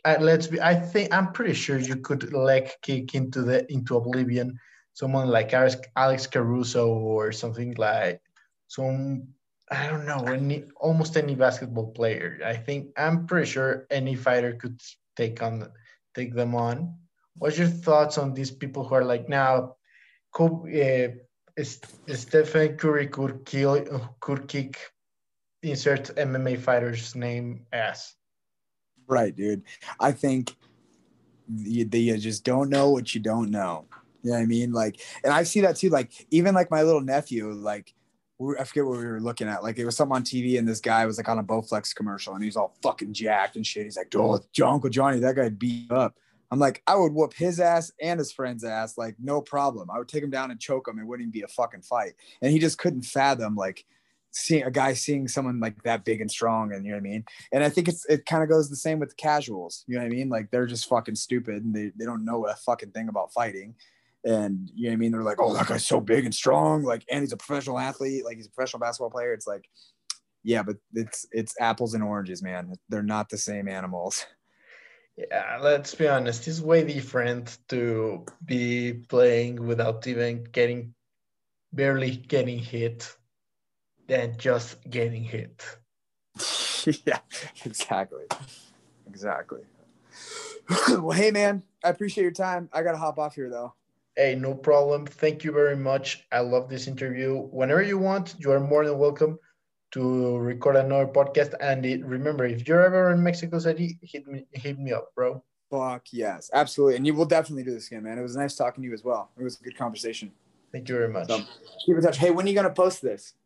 uh, let's be. I think I'm pretty sure you could leg kick into the into oblivion someone like Alex, Alex Caruso or something like some. I don't know any almost any basketball player. I think I'm pretty sure any fighter could take on take them on. What's your thoughts on these people who are like now? Kobe, uh, Stephen Curry could kill could kick insert M M A fighter's name as. Right, dude. I think you, you just don't know what you don't know. You know what I mean? Like, and I see that too. Like, even like my little nephew, like, we, I forget what we were looking at. Like, it was something on T V, and this guy was like on a Bowflex commercial, and he's all fucking jacked and shit. He's like, "Oh, Uncle Johnny, that guy beat up." I'm like, I would whoop his ass and his friend's ass, like, no problem. I would take him down and choke him. It wouldn't even be a fucking fight. And he just couldn't fathom, like, seeing a guy seeing someone like that big and strong, and you know what I mean? And I think it's it kind of goes the same with the casuals. You know what I mean? Like, they're just fucking stupid, and they, they don't know a fucking thing about fighting. And you know what I mean? They're like, oh, that guy's so big and strong, like, and he's a professional athlete, like he's a professional basketball player. It's like, yeah, but it's it's apples and oranges, man. They're not the same animals. Yeah, let's be honest. It's way different to be playing without even getting, barely getting hit, than just getting hit. Yeah, exactly. Exactly. Well, hey, man, I appreciate your time. I got to hop off here, though. Hey, no problem. Thank you very much. I love this interview. Whenever you want, you are more than welcome to record another podcast. And it, remember, if you're ever in Mexico City, hit me, hit me up, bro. Fuck yes, absolutely. And you will definitely do this again, man. It was nice talking to you as well. It was a good conversation. Thank you very much. So, keep in touch. Hey, when are you going to post this?